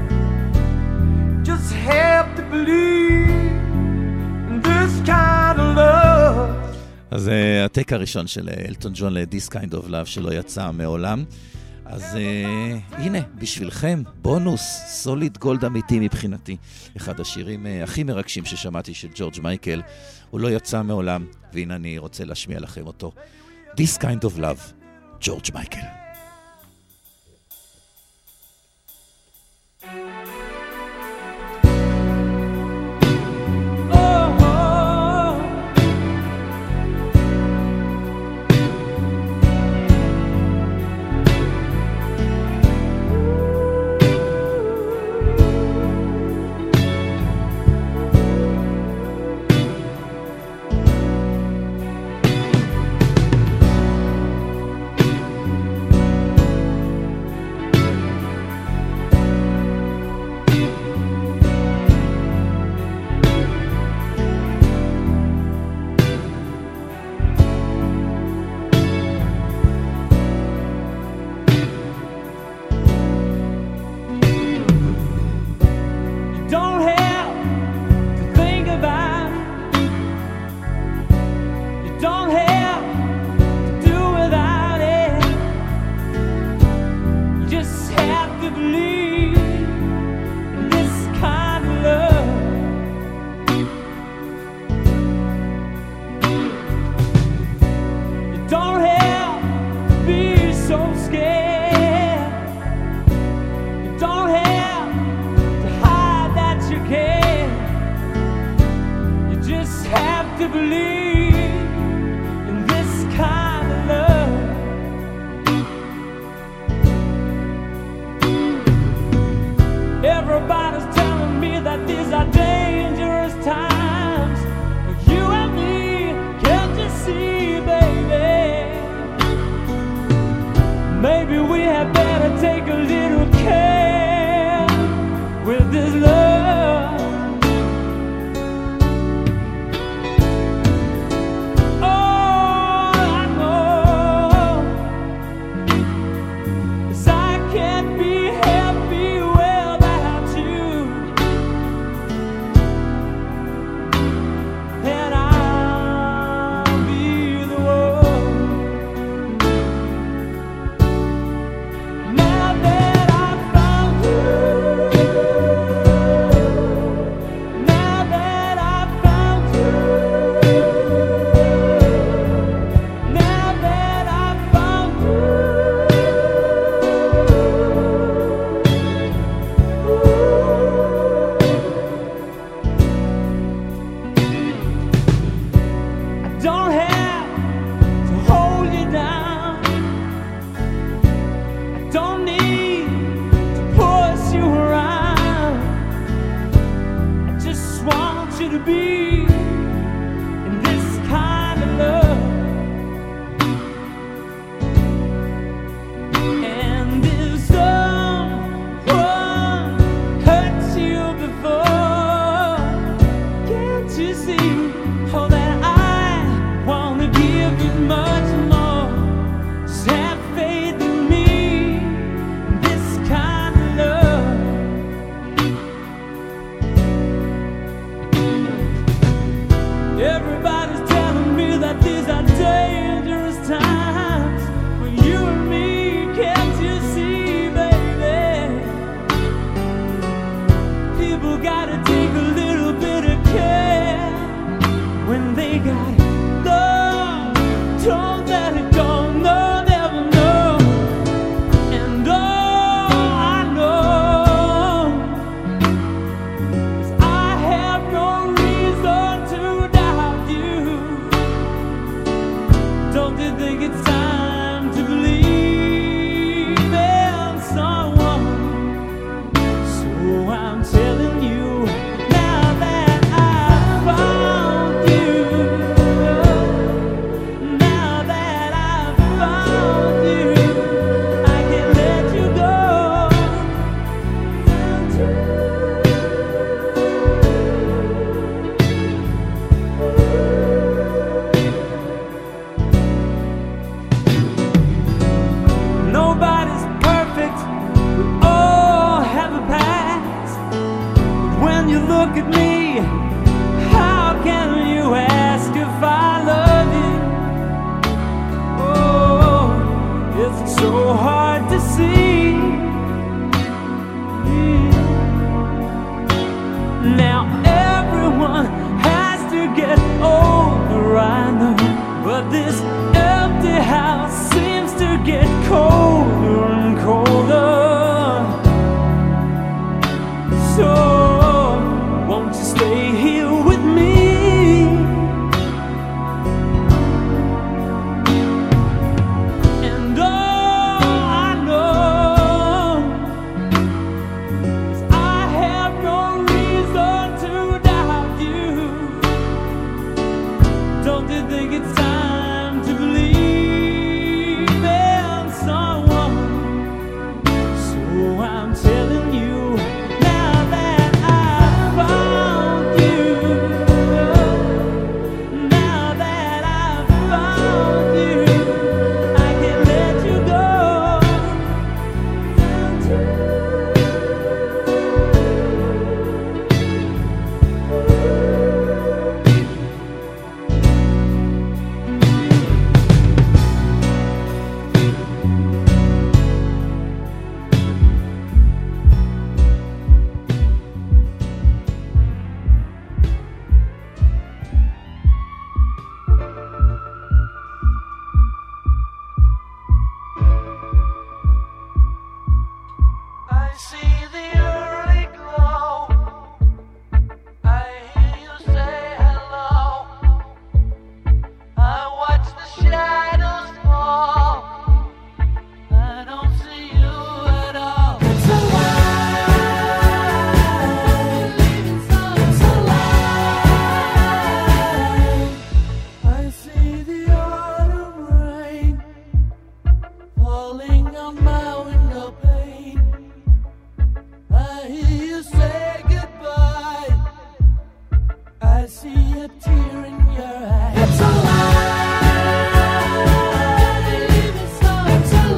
have to believe in this kind of love. אז הטייק הראשון של אלטון ג'ון ל-This Kind of Love שלא יצא מעולם. אז uh, הנה, בשבילכם, בונוס, סוליד גולד אמיתי מבחינתי. אחד השירים uh, הכי מרגשים ששמעתי של ג'ורג' מייקל. הוא לא יצא מעולם, והנה אני רוצה להשמיע לכם אותו. This kind of love, ג'ורג' מייקל. just so hard to see. Mm. Now everyone has to get older, I know, but this empty house seems to get colder and colder. So won't you stay here with me? And all I know is I have no reason to doubt you. Don't you think it's time to believe in someone? So I'm telling you, now that I've found you, now that I've found you, I can let you go. I see the early glow. I hear you say hello. I watch the shadows fall. I don't see you at all. It's a lie. It's a lie. I see the autumn rain falling on my window pane. I hear you say goodbye. I see a tear in your eye. It's a lie. It's a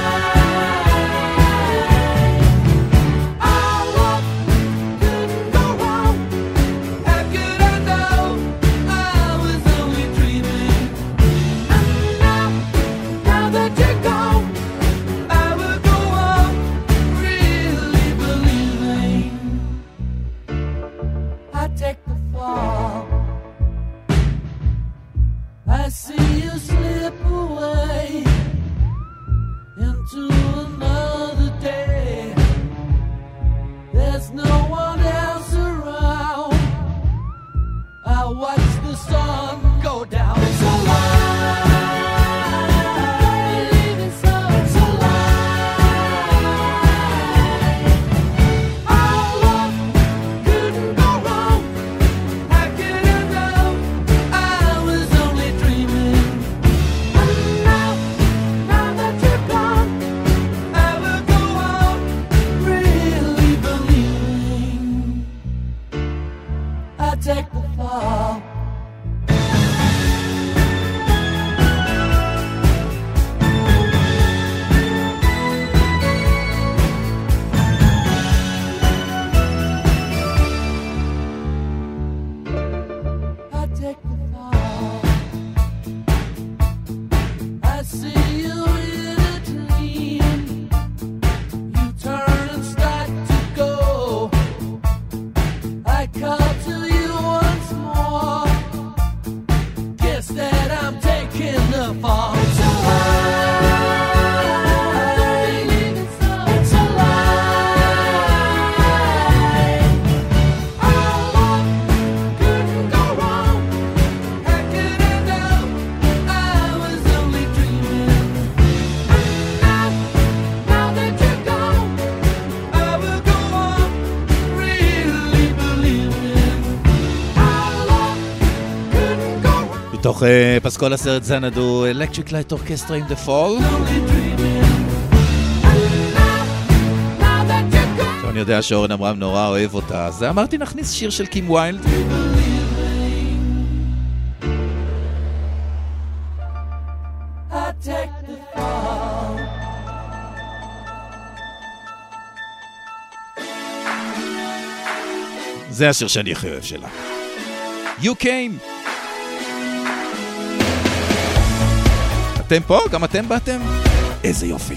lie. Our love couldn't go wrong. How could I know? I was only dreaming. And now, now that you're gone, I will go on really believing. I take the fall. I see you slip away into another day. There's no one else around. I watch the sun go down. It's a lie. It's a lie. Our love couldn't go wrong. How could I know? I was only dreaming. And now, now that you're gone, I will go on really believing. I take the fall. I take the fall. I see you in a dream. You turn and start to go. I call to you once more. Guess that I'm taking the fall. It's a lie. It's a lie. Our love couldn't go wrong. How could I know? I was only dreaming. And now, now that you're gone, I will go on really believing. Our love couldn't go wrong. מתוך uh, פסקול הסרט זנדו, Electric Light Orchestra in the Fall. אני יודע שאורן אמרם נורא אוהב אותה, אז אמרתי נכניס שיר של קים ויילד. I take the fall. זה השיר שאני הכי אוהב שלה. You came. אתם פה? גם אתם באתם? איזה יופי.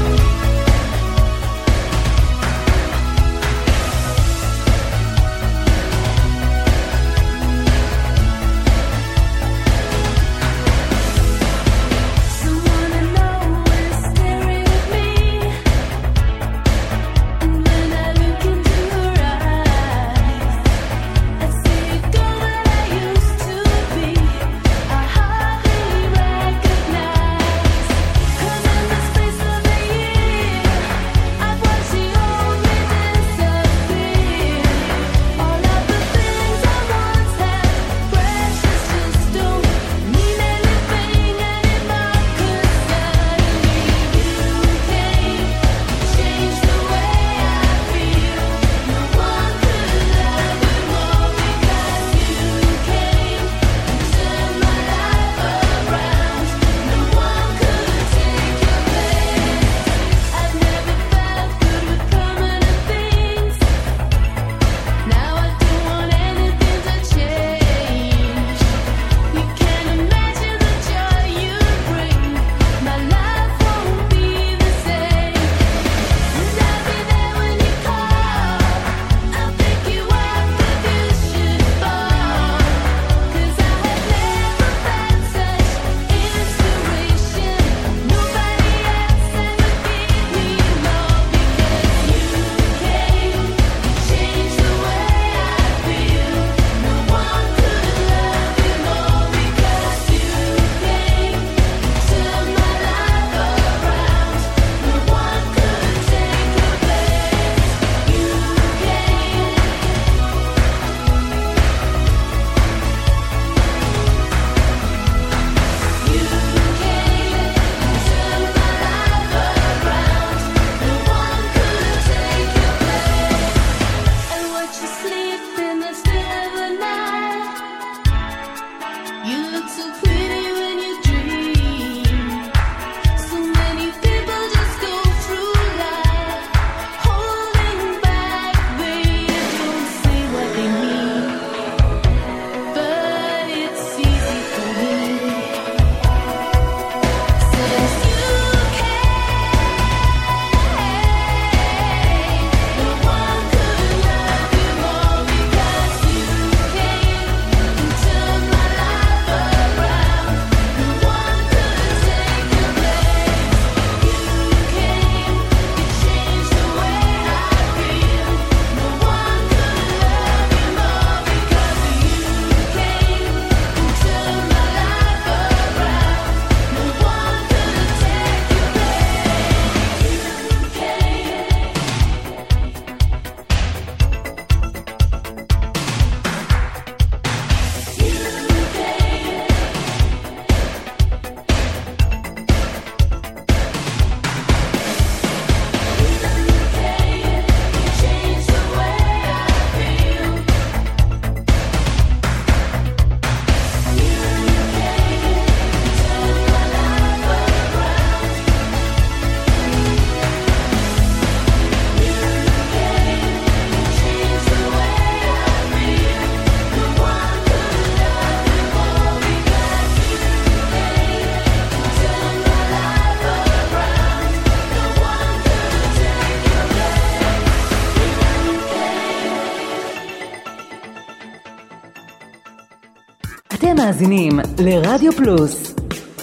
אתם מאזינים לרדיו פלוס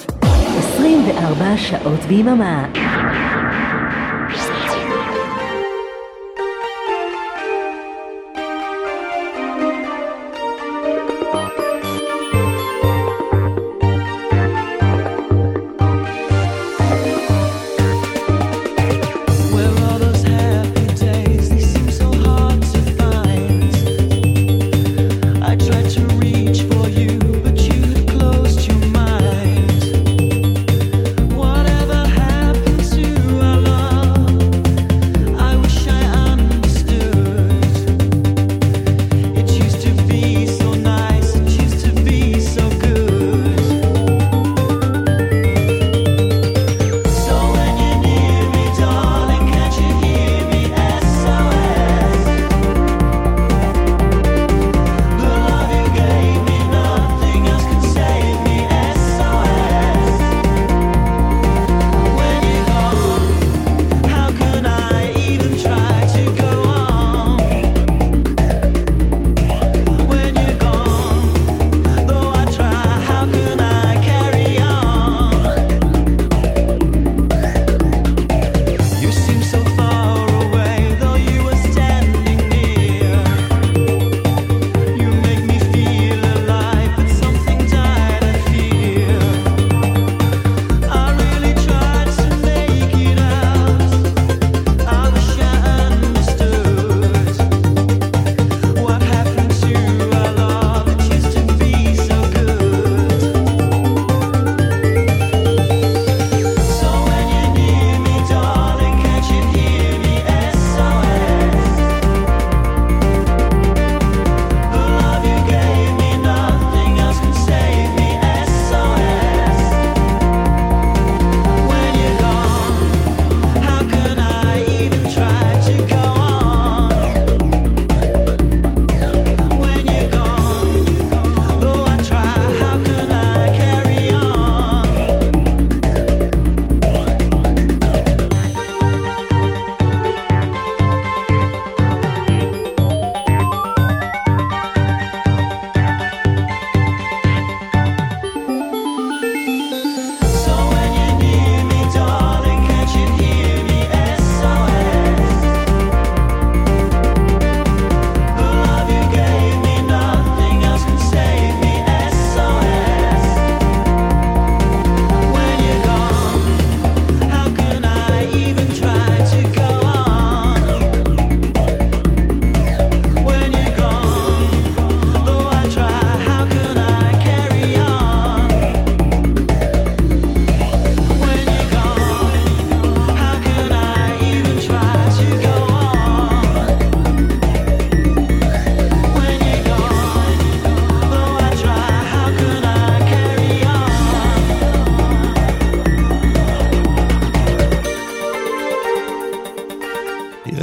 עשרים וארבע שעות ביממה. Whatever happened to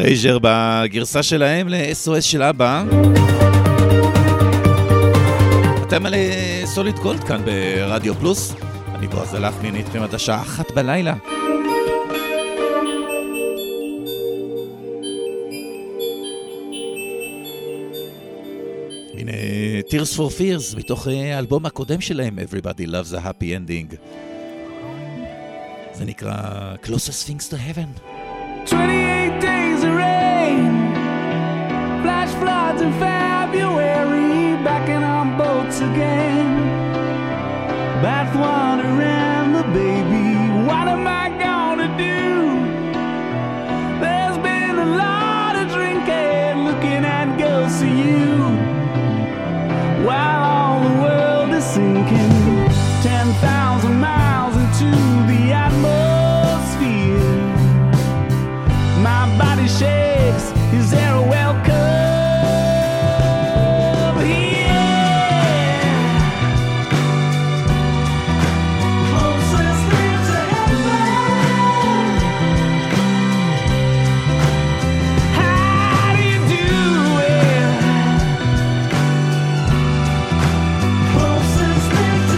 ארייז'ר בגרסה שלהם ל-אס או אס של אבא. אתם על סוליד גולד כאן ברדיו פלוס. אני בועז הלחמין איתכם עד השעה אחת בלילה. הנה Tears for Fears מתוך האלבום הקודם שלהם, Everybody Loves a Happy Ending. זה נקרא Closest Things to Heaven. twenty-eight days of rain, flash floods in February, backing on boats again. Bath water and the baby, what am I gonna do? There's been a lot of drinking, looking at girls to you, while all the world is sinking. Ten thousand miles into the atmosphere. My body shakes, is there a welcome? Yeah. Closest thing to heaven. How do you do it? Closest thing to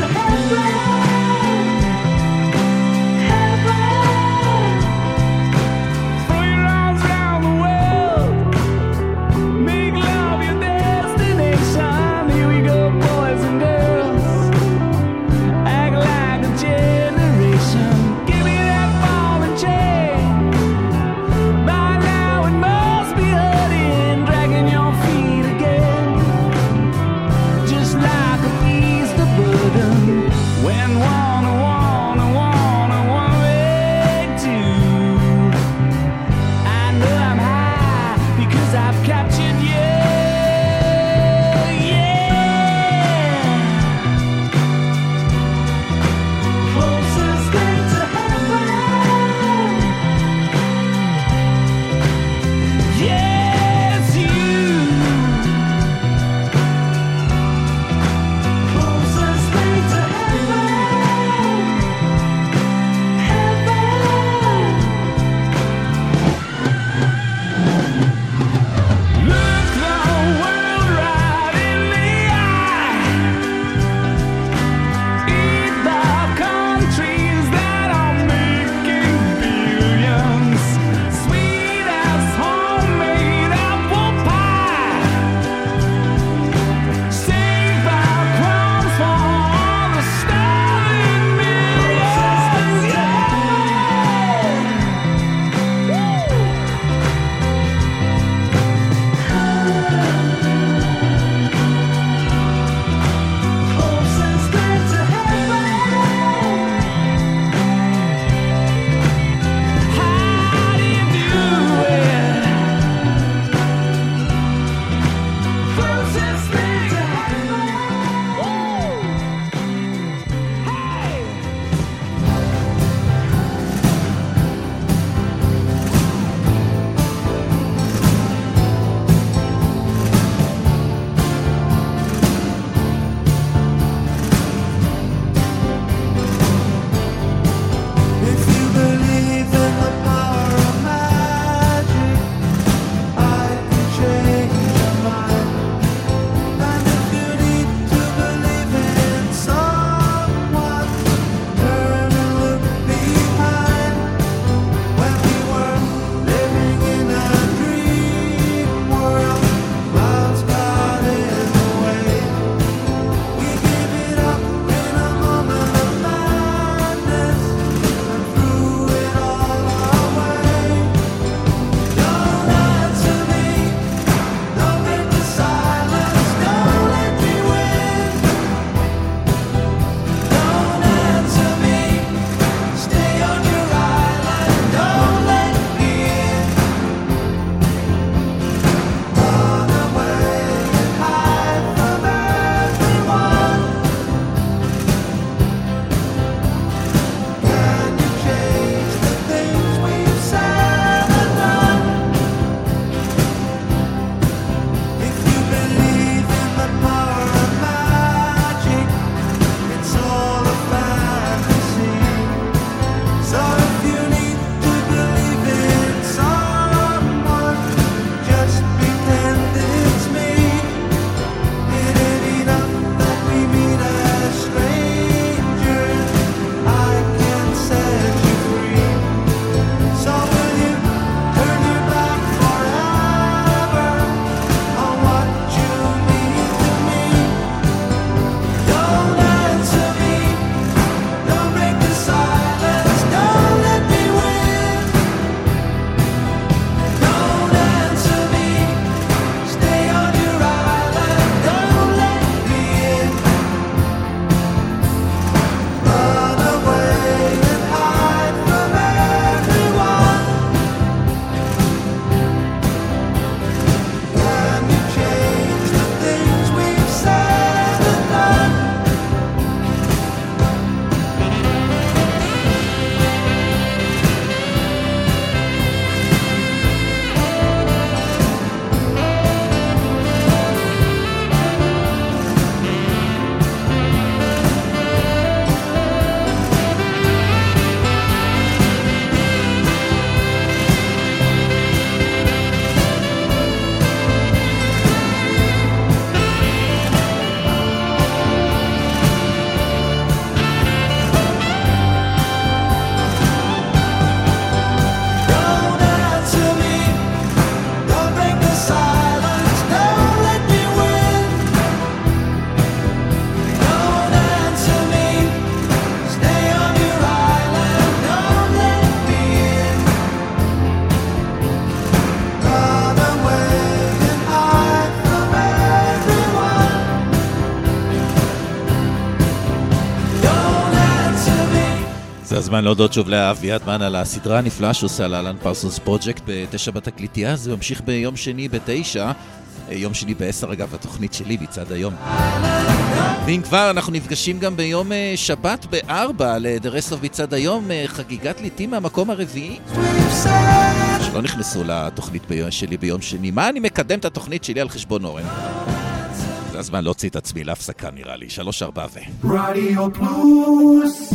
הזמן להודות שוב לאביעד מן על הסדרה הנפלאה שעושה על אלן פרסונס פרוג'קט בתשע בתקליטייה. זה ממשיך ביום שני בתשע, יום שני בעשר אגב, התוכנית שלי בצד היום. ואם כבר אנחנו נפגשים גם ביום שבת בארבע ל-The Rest of בצד היום, חגיגת ליטים מהמקום הרביעי שלא נכנסו לתוכנית שלי ביום שני. מה אני מקדם את התוכנית שלי על חשבון אורן? זה הזמן להוציא את עצמי להפסקה נראה לי. שלוש ארבע ו... רדיו פלוס.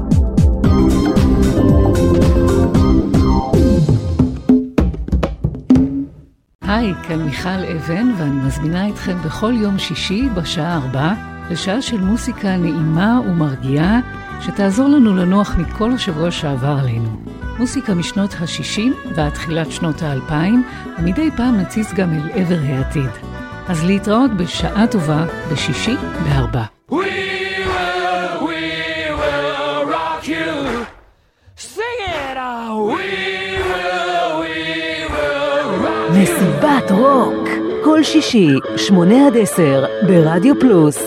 היי, כאן מיכל אבן ואני מזמינה אתכם בכל יום שישי בשעה ארבע לשעה של מוסיקה נעימה ומרגיעה שתעזור לנו לנוח מכל השבוע שעבר עלינו. מוסיקה משנות ה-שישים ועד תחילת שנות ה-אלפיים, ומדי פעם נציץ גם אל עבר העתיד. אז להתראות בשעה טובה בשישי בארבע. We will, we will rock you. Sing it out. We will, we will rock you. מסיבת רוק, כל שישי, שמונה עד עשר, ברדיו פלוס.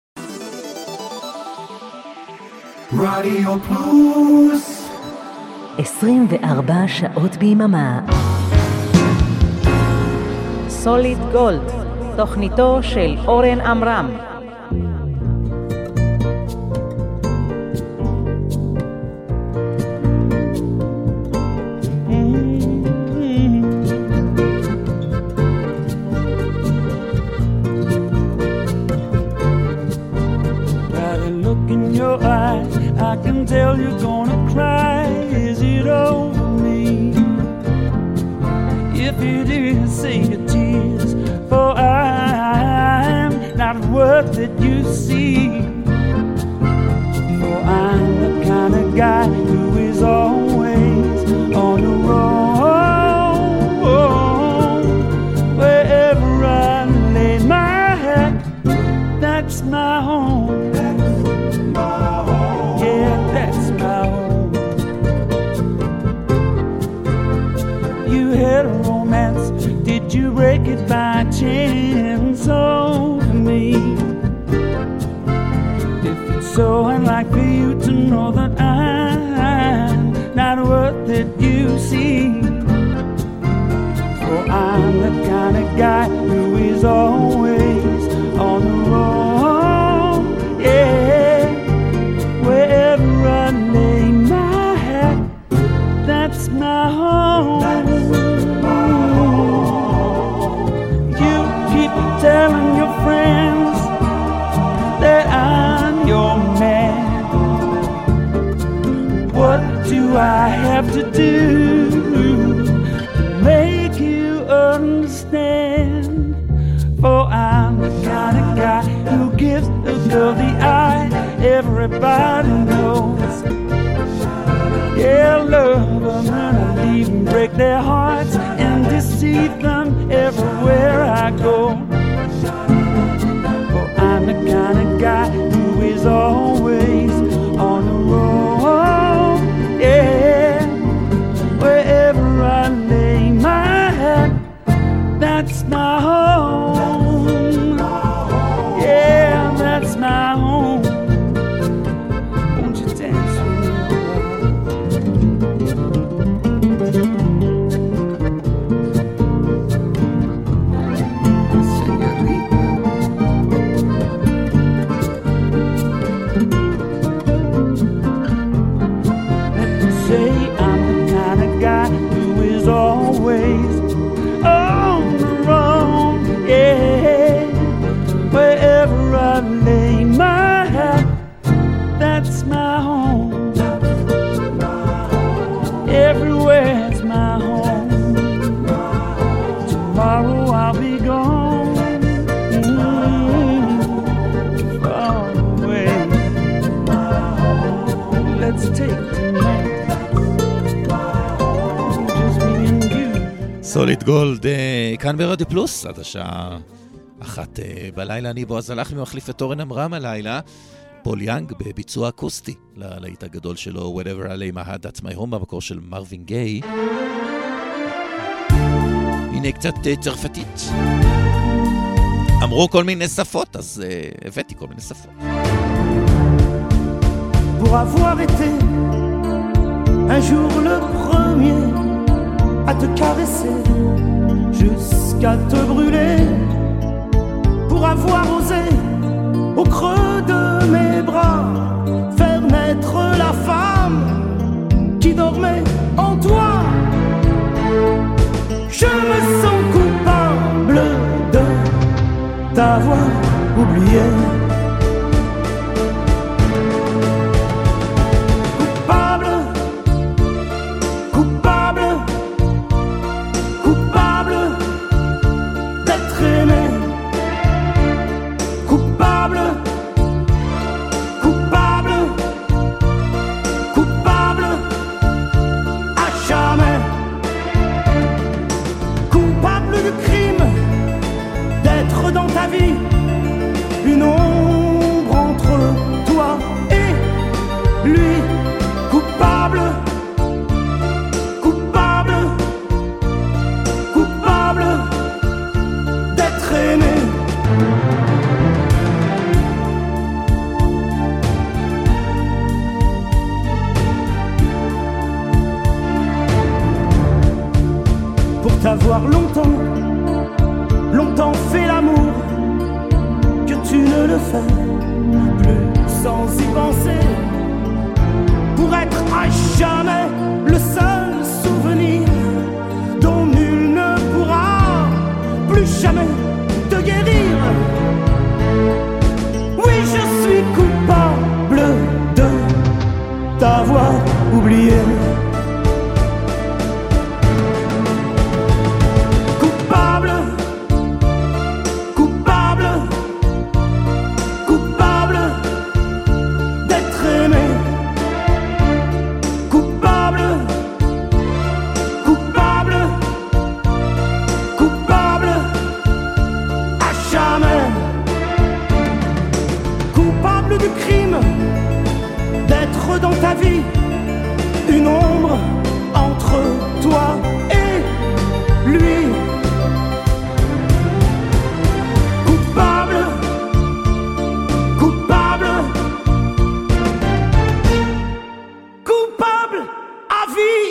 רדיו פלוס. עשרים וארבע שעות ביממה. סוליד גולד, תוכניתו של אורן אמרם. I can tell you're gonna cry. Is it over me? If it is, say your tears, for I'm not worth it, you see. For I'm the kind of guy who is always on the road. Wherever I lay my head, that's my home. Did you break it by chance? Oh, for me, if it's so unlike for you to know that I'm not worth it, you see. For I'm the kind of guy who is always on the road. Yeah, wherever I lay my head, that's my home. Telling your friends that I'm your man. What do I have to do to make you understand? For I'm the kind of guy who gives a girl the eye. Everybody knows. Yeah, love them and I leave them, break their hearts and deceive them everywhere I go. I'm the kind of guy who is always on the road. Yeah, wherever I lay my head, that's my home. Yeah, that's my home. Won't you dance with me? Always on the road, yeah. Wherever I lay my head, that's my home. Everywhere's my home. Tomorrow I'll be gone, mm-hmm. Far away. Let's take tonight. סוליד גולד, כאן ברדיו פלוס, עד השעה אחת בלילה. אני בועז הלחמי מחליף את אורן אמרם הלילה. פול יאנג בביצוע אקוסטי ללהיט הגדול שלו, Whatever I Lay My Head, That's My Home, במקור של מרווין גיי. הנה קצת צרפתית. אמרו כל מיני שפות, אז uh, הבאתי כל מיני שפות. Pour avoir été un jour le premier à te caresser, jusqu'à te brûler, pour avoir osé, au creux de mes bras, faire naître la femme qui dormait en toi. Je me sens coupable de t'avoir oublié. Coupable, coupable, coupable d'être aimé. Coupable, coupable, coupable à jamais. Coupable du crime d'être dans ta vie une ombre entre toi et lui. Coupable, coupable, coupable d'être aimé. Pour t'avoir longtemps, longtemps fait l'amour, que tu ne le fais plus sans y penser, pour être à jamais le seul souvenir dont nul ne pourra plus jamais te guérir. Oui, je suis coupable de t'avoir oublié. Coupable, coupable, coupable d'être aimé. Coupable, coupable, coupable à jamais. Coupable du crime d'être dans ta vie une ombre entre toi et lui. Coupable, coupable, coupable à vie.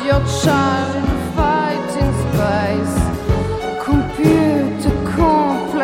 Child fighting space, computer complex.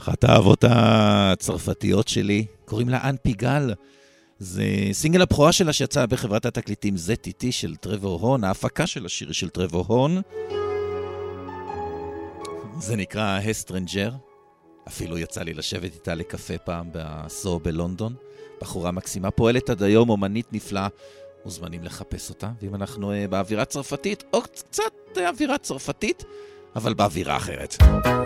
אחת האהבות הצרפתיות שלי, קוראים לה אן פיגל. זה סינגל הבכורה שלה שיצא בחברת התקליטים זד טי טי של טרוור הורן, ההפקה של השיר של טרוור הורן. זה נקרא הסטרנג'ר. אפילו יצא לי לשבת איתה לקפה פעם בסו בלונדון. בחורה מקסימה, פועלת עד היום, אומנית נפלאה. מוזמנים לחפש אותה. ואם אנחנו uh, באווירה צרפתית, או קצת uh, אווירה צרפתית, אבל באווירה אחרת.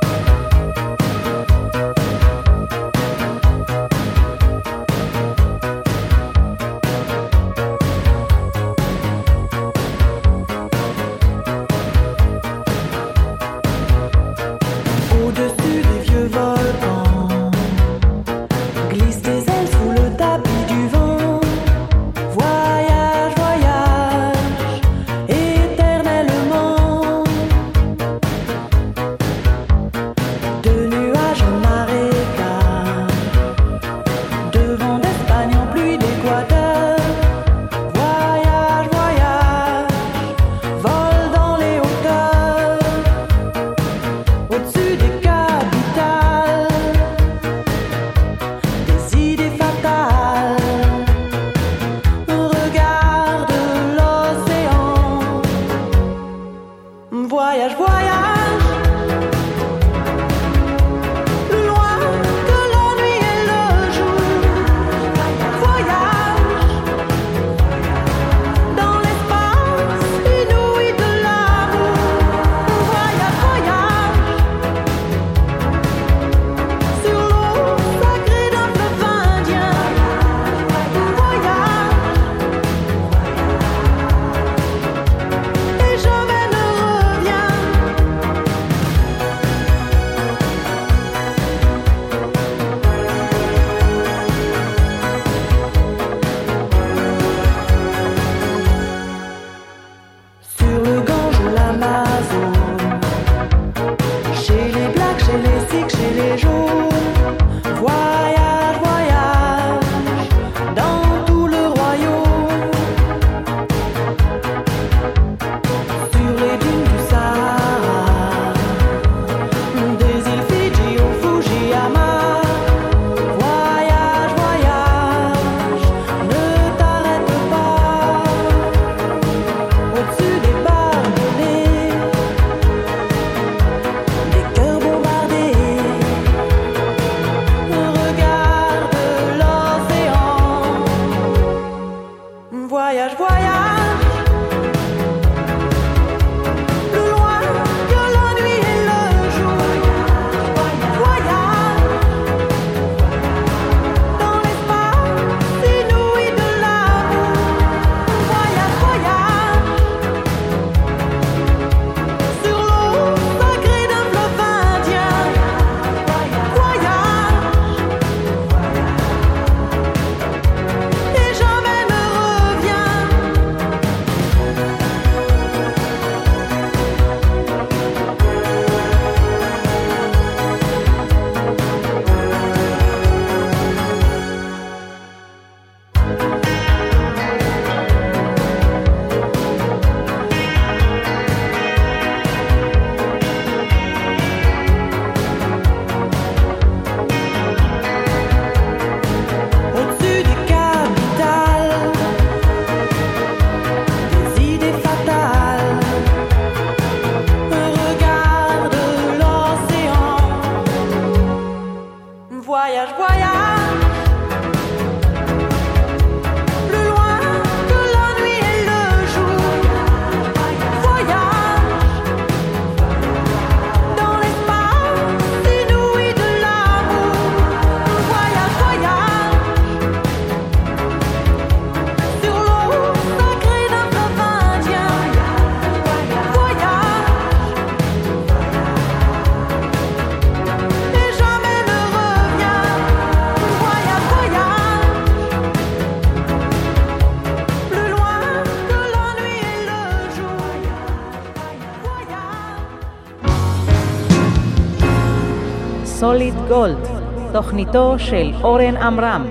סוליד גולד, תוכניתו של אורן עמרם.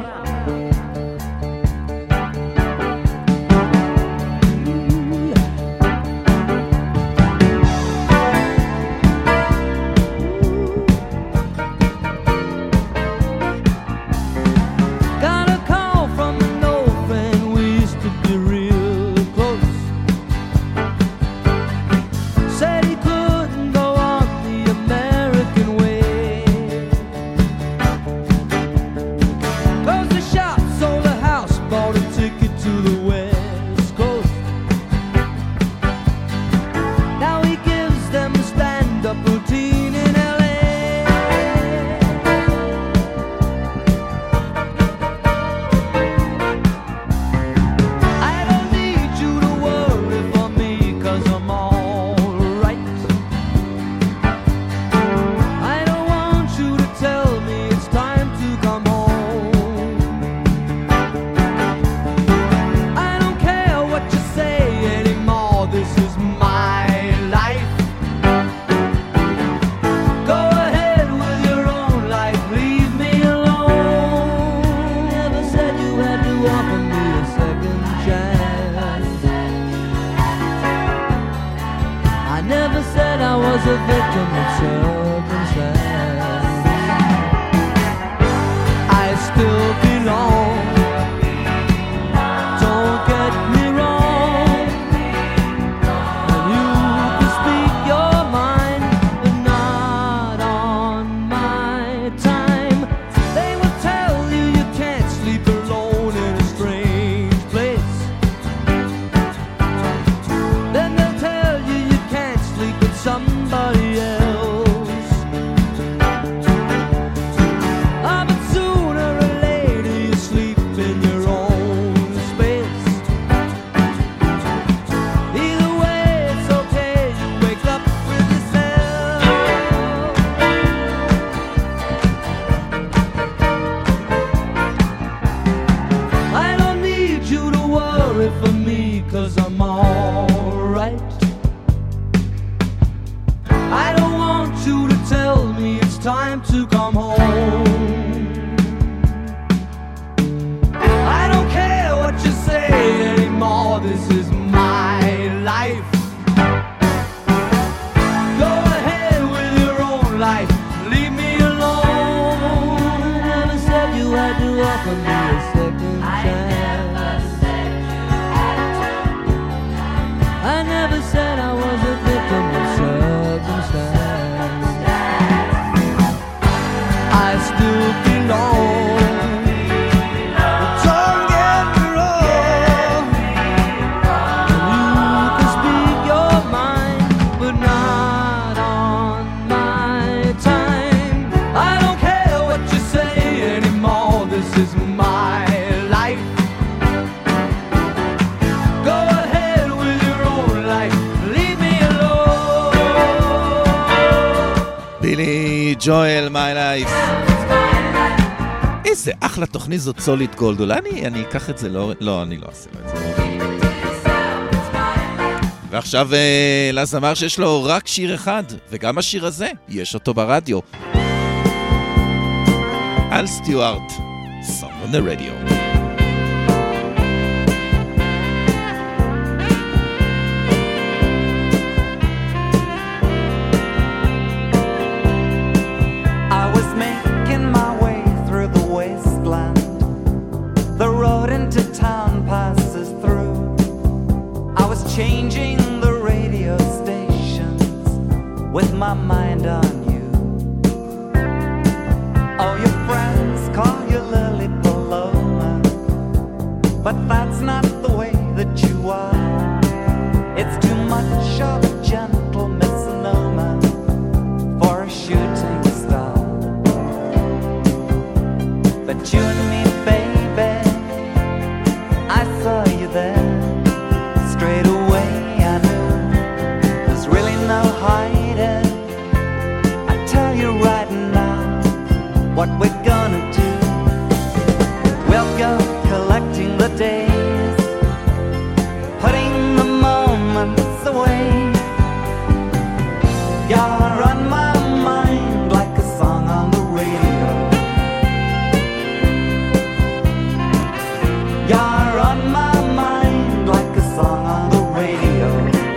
offer me a second chance. I never said I was a victim of circumstance. I still belong. Don't get me wrong. You can speak your mind, but not on my time. I don't care what you say anymore. This is my life. Go ahead with your own life. Leave me alone. בילי ג'ואל, My Life. איזה אחלה תוכנית זאת סוליד גולד. אולי אני, אני אקח את זה, לא, לא, אני לא אעשה את זה. ועכשיו אה, לזמר שיש לו רק שיר אחד, וגם השיר הזה, יש אותו ברדיו. אל סטיוארט, Song on the Radio. I was making my way through the wasteland. The road into town passes through. I was changing the radio stations with my mind on you. Oh, your friends call you Lily Paloma, but that's not the way that you are. It's too much of a gentle misnomer for a shooting star. But you and me, baby, I saw you there. Straight away I knew there's really no hiding. I tell you right now what we're gonna do. We'll go collecting the days, putting the moments away. You're on my mind like a song on the radio. You're on my mind like a song on the radio.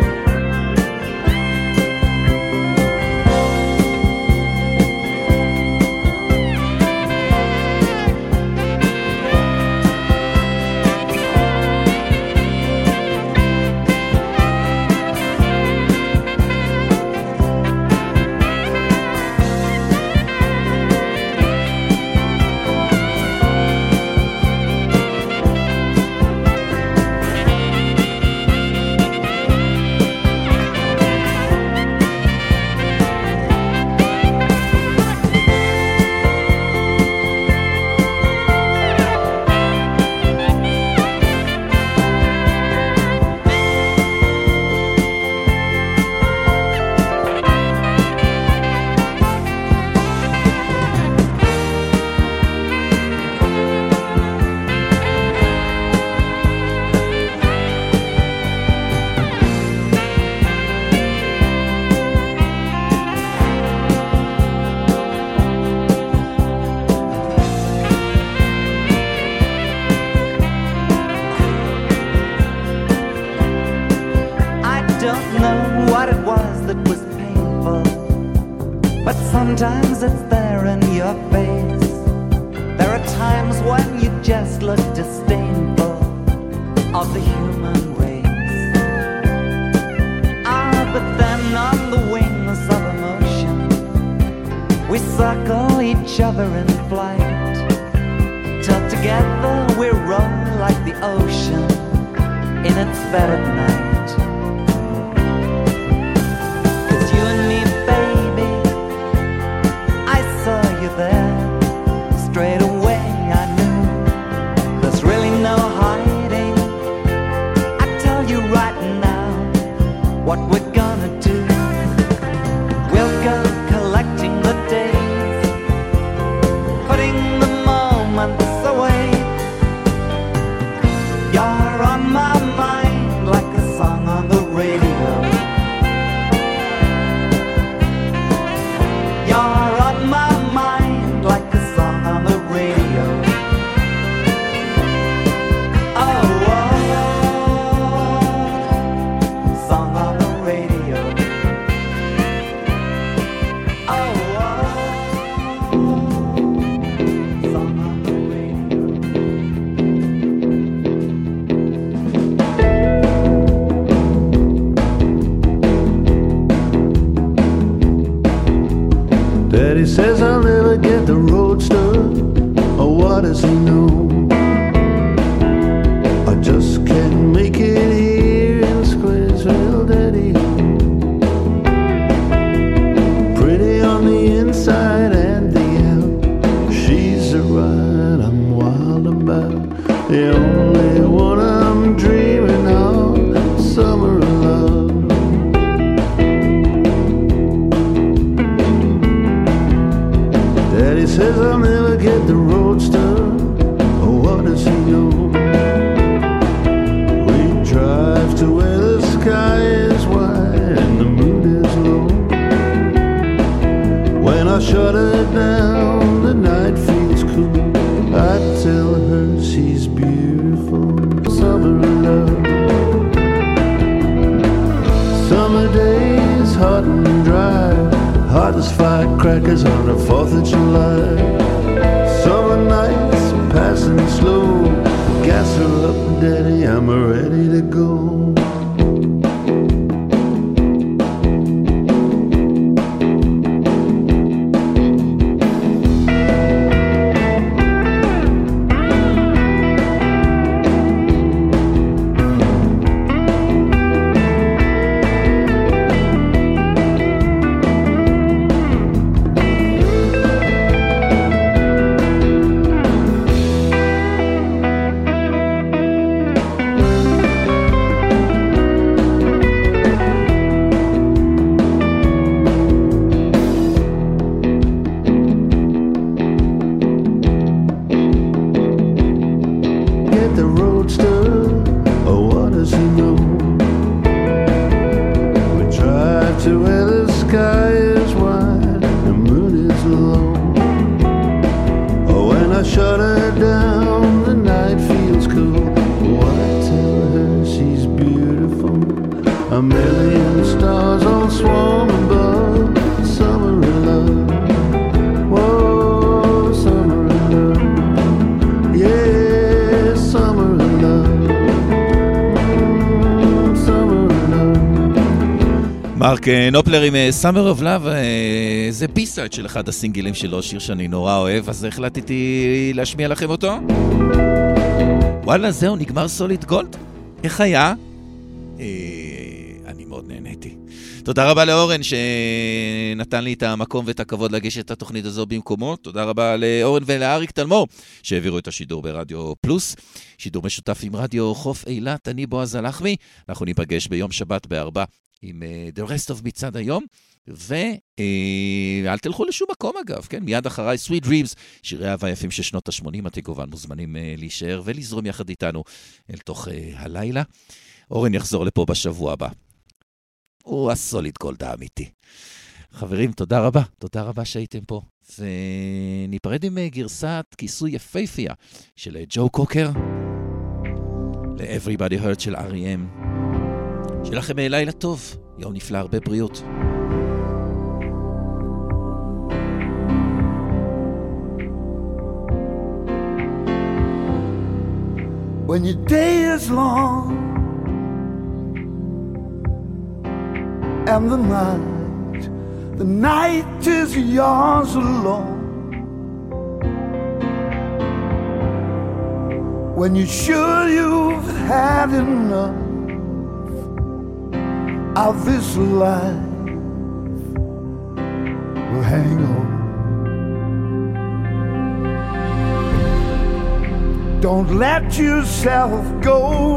Sometimes it's there in your face. There are times when you just look disdainful of the human race. Ah, but then on the wings of emotion, we circle each other in flight, till together we roll like the ocean in its bed at night. 'Cause you and me, baby, I saw you there. Straight away I knew there's really no hiding. I tell you right now what we're gonna do. We'll go collecting the days, putting the moments away. You're on my mind like a song on the radio. You're on my mind like a song on the radio. Oh, oh, oh. Song on the radio. Oh, oh. Daddy says I'll never get the roadster. Oh, what does he know? I just can't make it here in Squaresville, Daddy. Pretty on the inside and the out. She's a ride I'm wild about. The only one I'm dreaming of, summer love. Daddy says I'll never get the roadster. Oh, what does he know? We drive to where the sky is wide and the mood is low. When I shut her down, the night feels cool. I tell her she's beautiful, summer love. Summer days, hot and dry, hot as firecrackers on the fourth of July. Summer nights, passing slow, gas her up, Daddy, I'm ready to go. מרק נופלר עם Summer of Love, זה בי-סייד של אחד הסינגלים שלו, שיר שאני נורא אוהב, אז החלטתי להשמיע לכם אותו. וואלה, זהו, נגמר סוליד גולד. איך היה? אני מאוד נהניתי. תודה רבה לאורן שנתן לי את המקום ואת הכבוד לגשת את התוכנית הזו במקומו. תודה רבה לאורן ולאריק תלמור שהעבירו את השידור ברדיו פלוס. שידור משותף עם רדיו חוף אילת, אני בועז הלחמי. אנחנו ניפגש ביום שבת בארבע עם uh, The Rest of מצד היום. ואל uh, תלכו לשום מקום אגב, כן? מיד אחריי Sweet Dreams, שירי אהבה יפים של שנות ה-שמונים, אתם כמובן מוזמנים uh, להישאר ולזרום יחד איתנו אל תוך uh, הלילה. אורן יחזור לפה בשבוע הבא. הוא הסוליד גולד האמיתי. חברים, תודה רבה. תודה רבה שהייתם פה. וניפרד עם גרסת כיסוי יפהפייה של ג'ו קוקר ל-Everybody Hurt של אר אי אם. שיהיה לכם לילה טוב. יום נפלא, הרבה בריאות. When your day is long and the night, the night is yours alone. When you're sure you've had enough of this life, well, hang on. Don't let yourself go.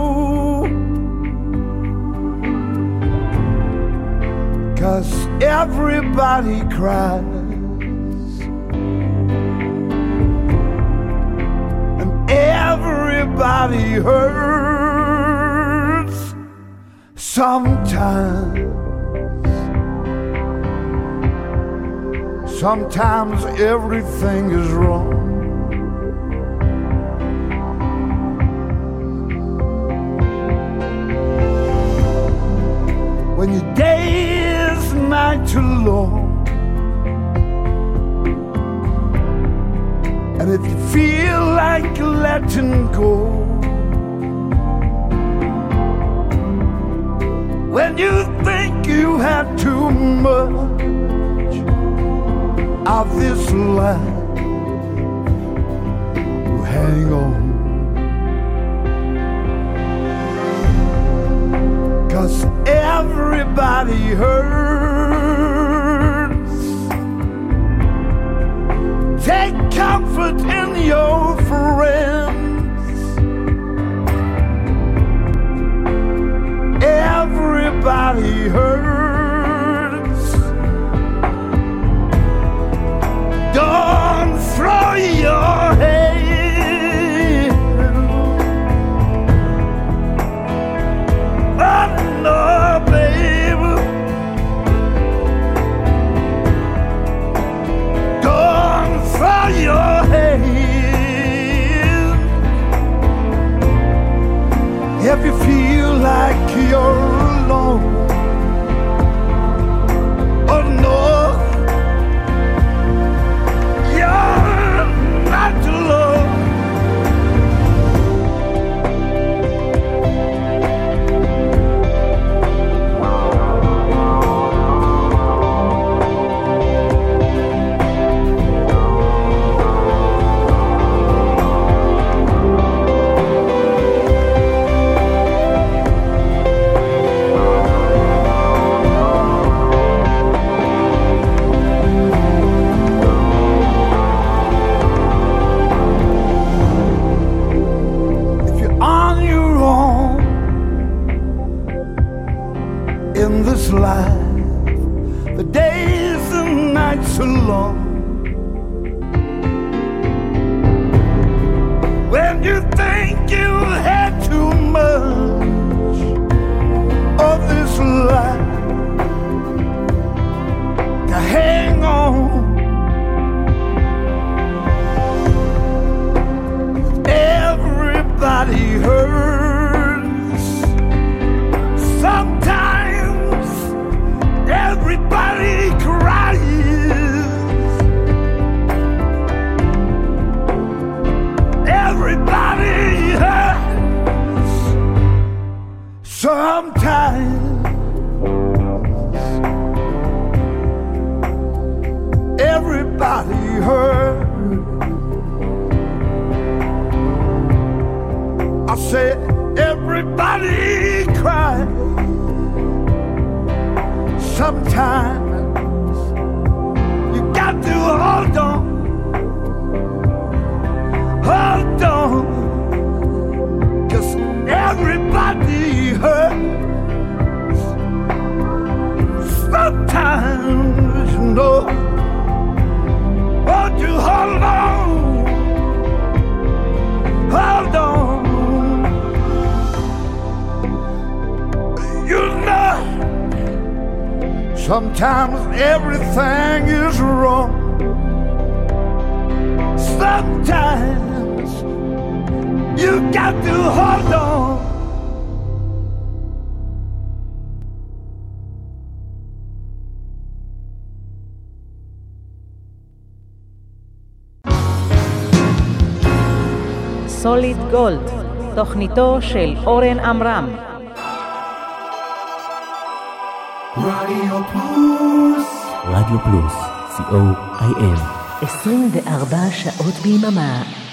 Cause everybody cries and everybody hurts sometimes. Sometimes everything is wrong. When your day is night too long, and if you feel like letting go, when you think you have too much, of this life will hang on. 'Cause everybody hurts. Take comfort in your friends. Everybody hurts. Don't throw your head. Oh no, baby. Don't throw your head. If you feel like you're alone, oh no, you're not alone. If you're on your own in this life, the days and nights are long. When you think you had too much of this life to hang on, everybody hurts. Sometimes everybody cries. Everybody hurts. Sometimes everybody hurts. I said everybody cries. Sometimes you got to hold on, hold on, 'cause everybody hurts. Sometimes, you know, won't you hold on, hold on. You know, sometimes everything is wrong. Sometimes you got to hold on. סוליד גולד, תוכניתו של אורן עמרם. רדיו פלוס. רדיו פלוס, סי או איי אם. עשרים וארבע שעות ביממה.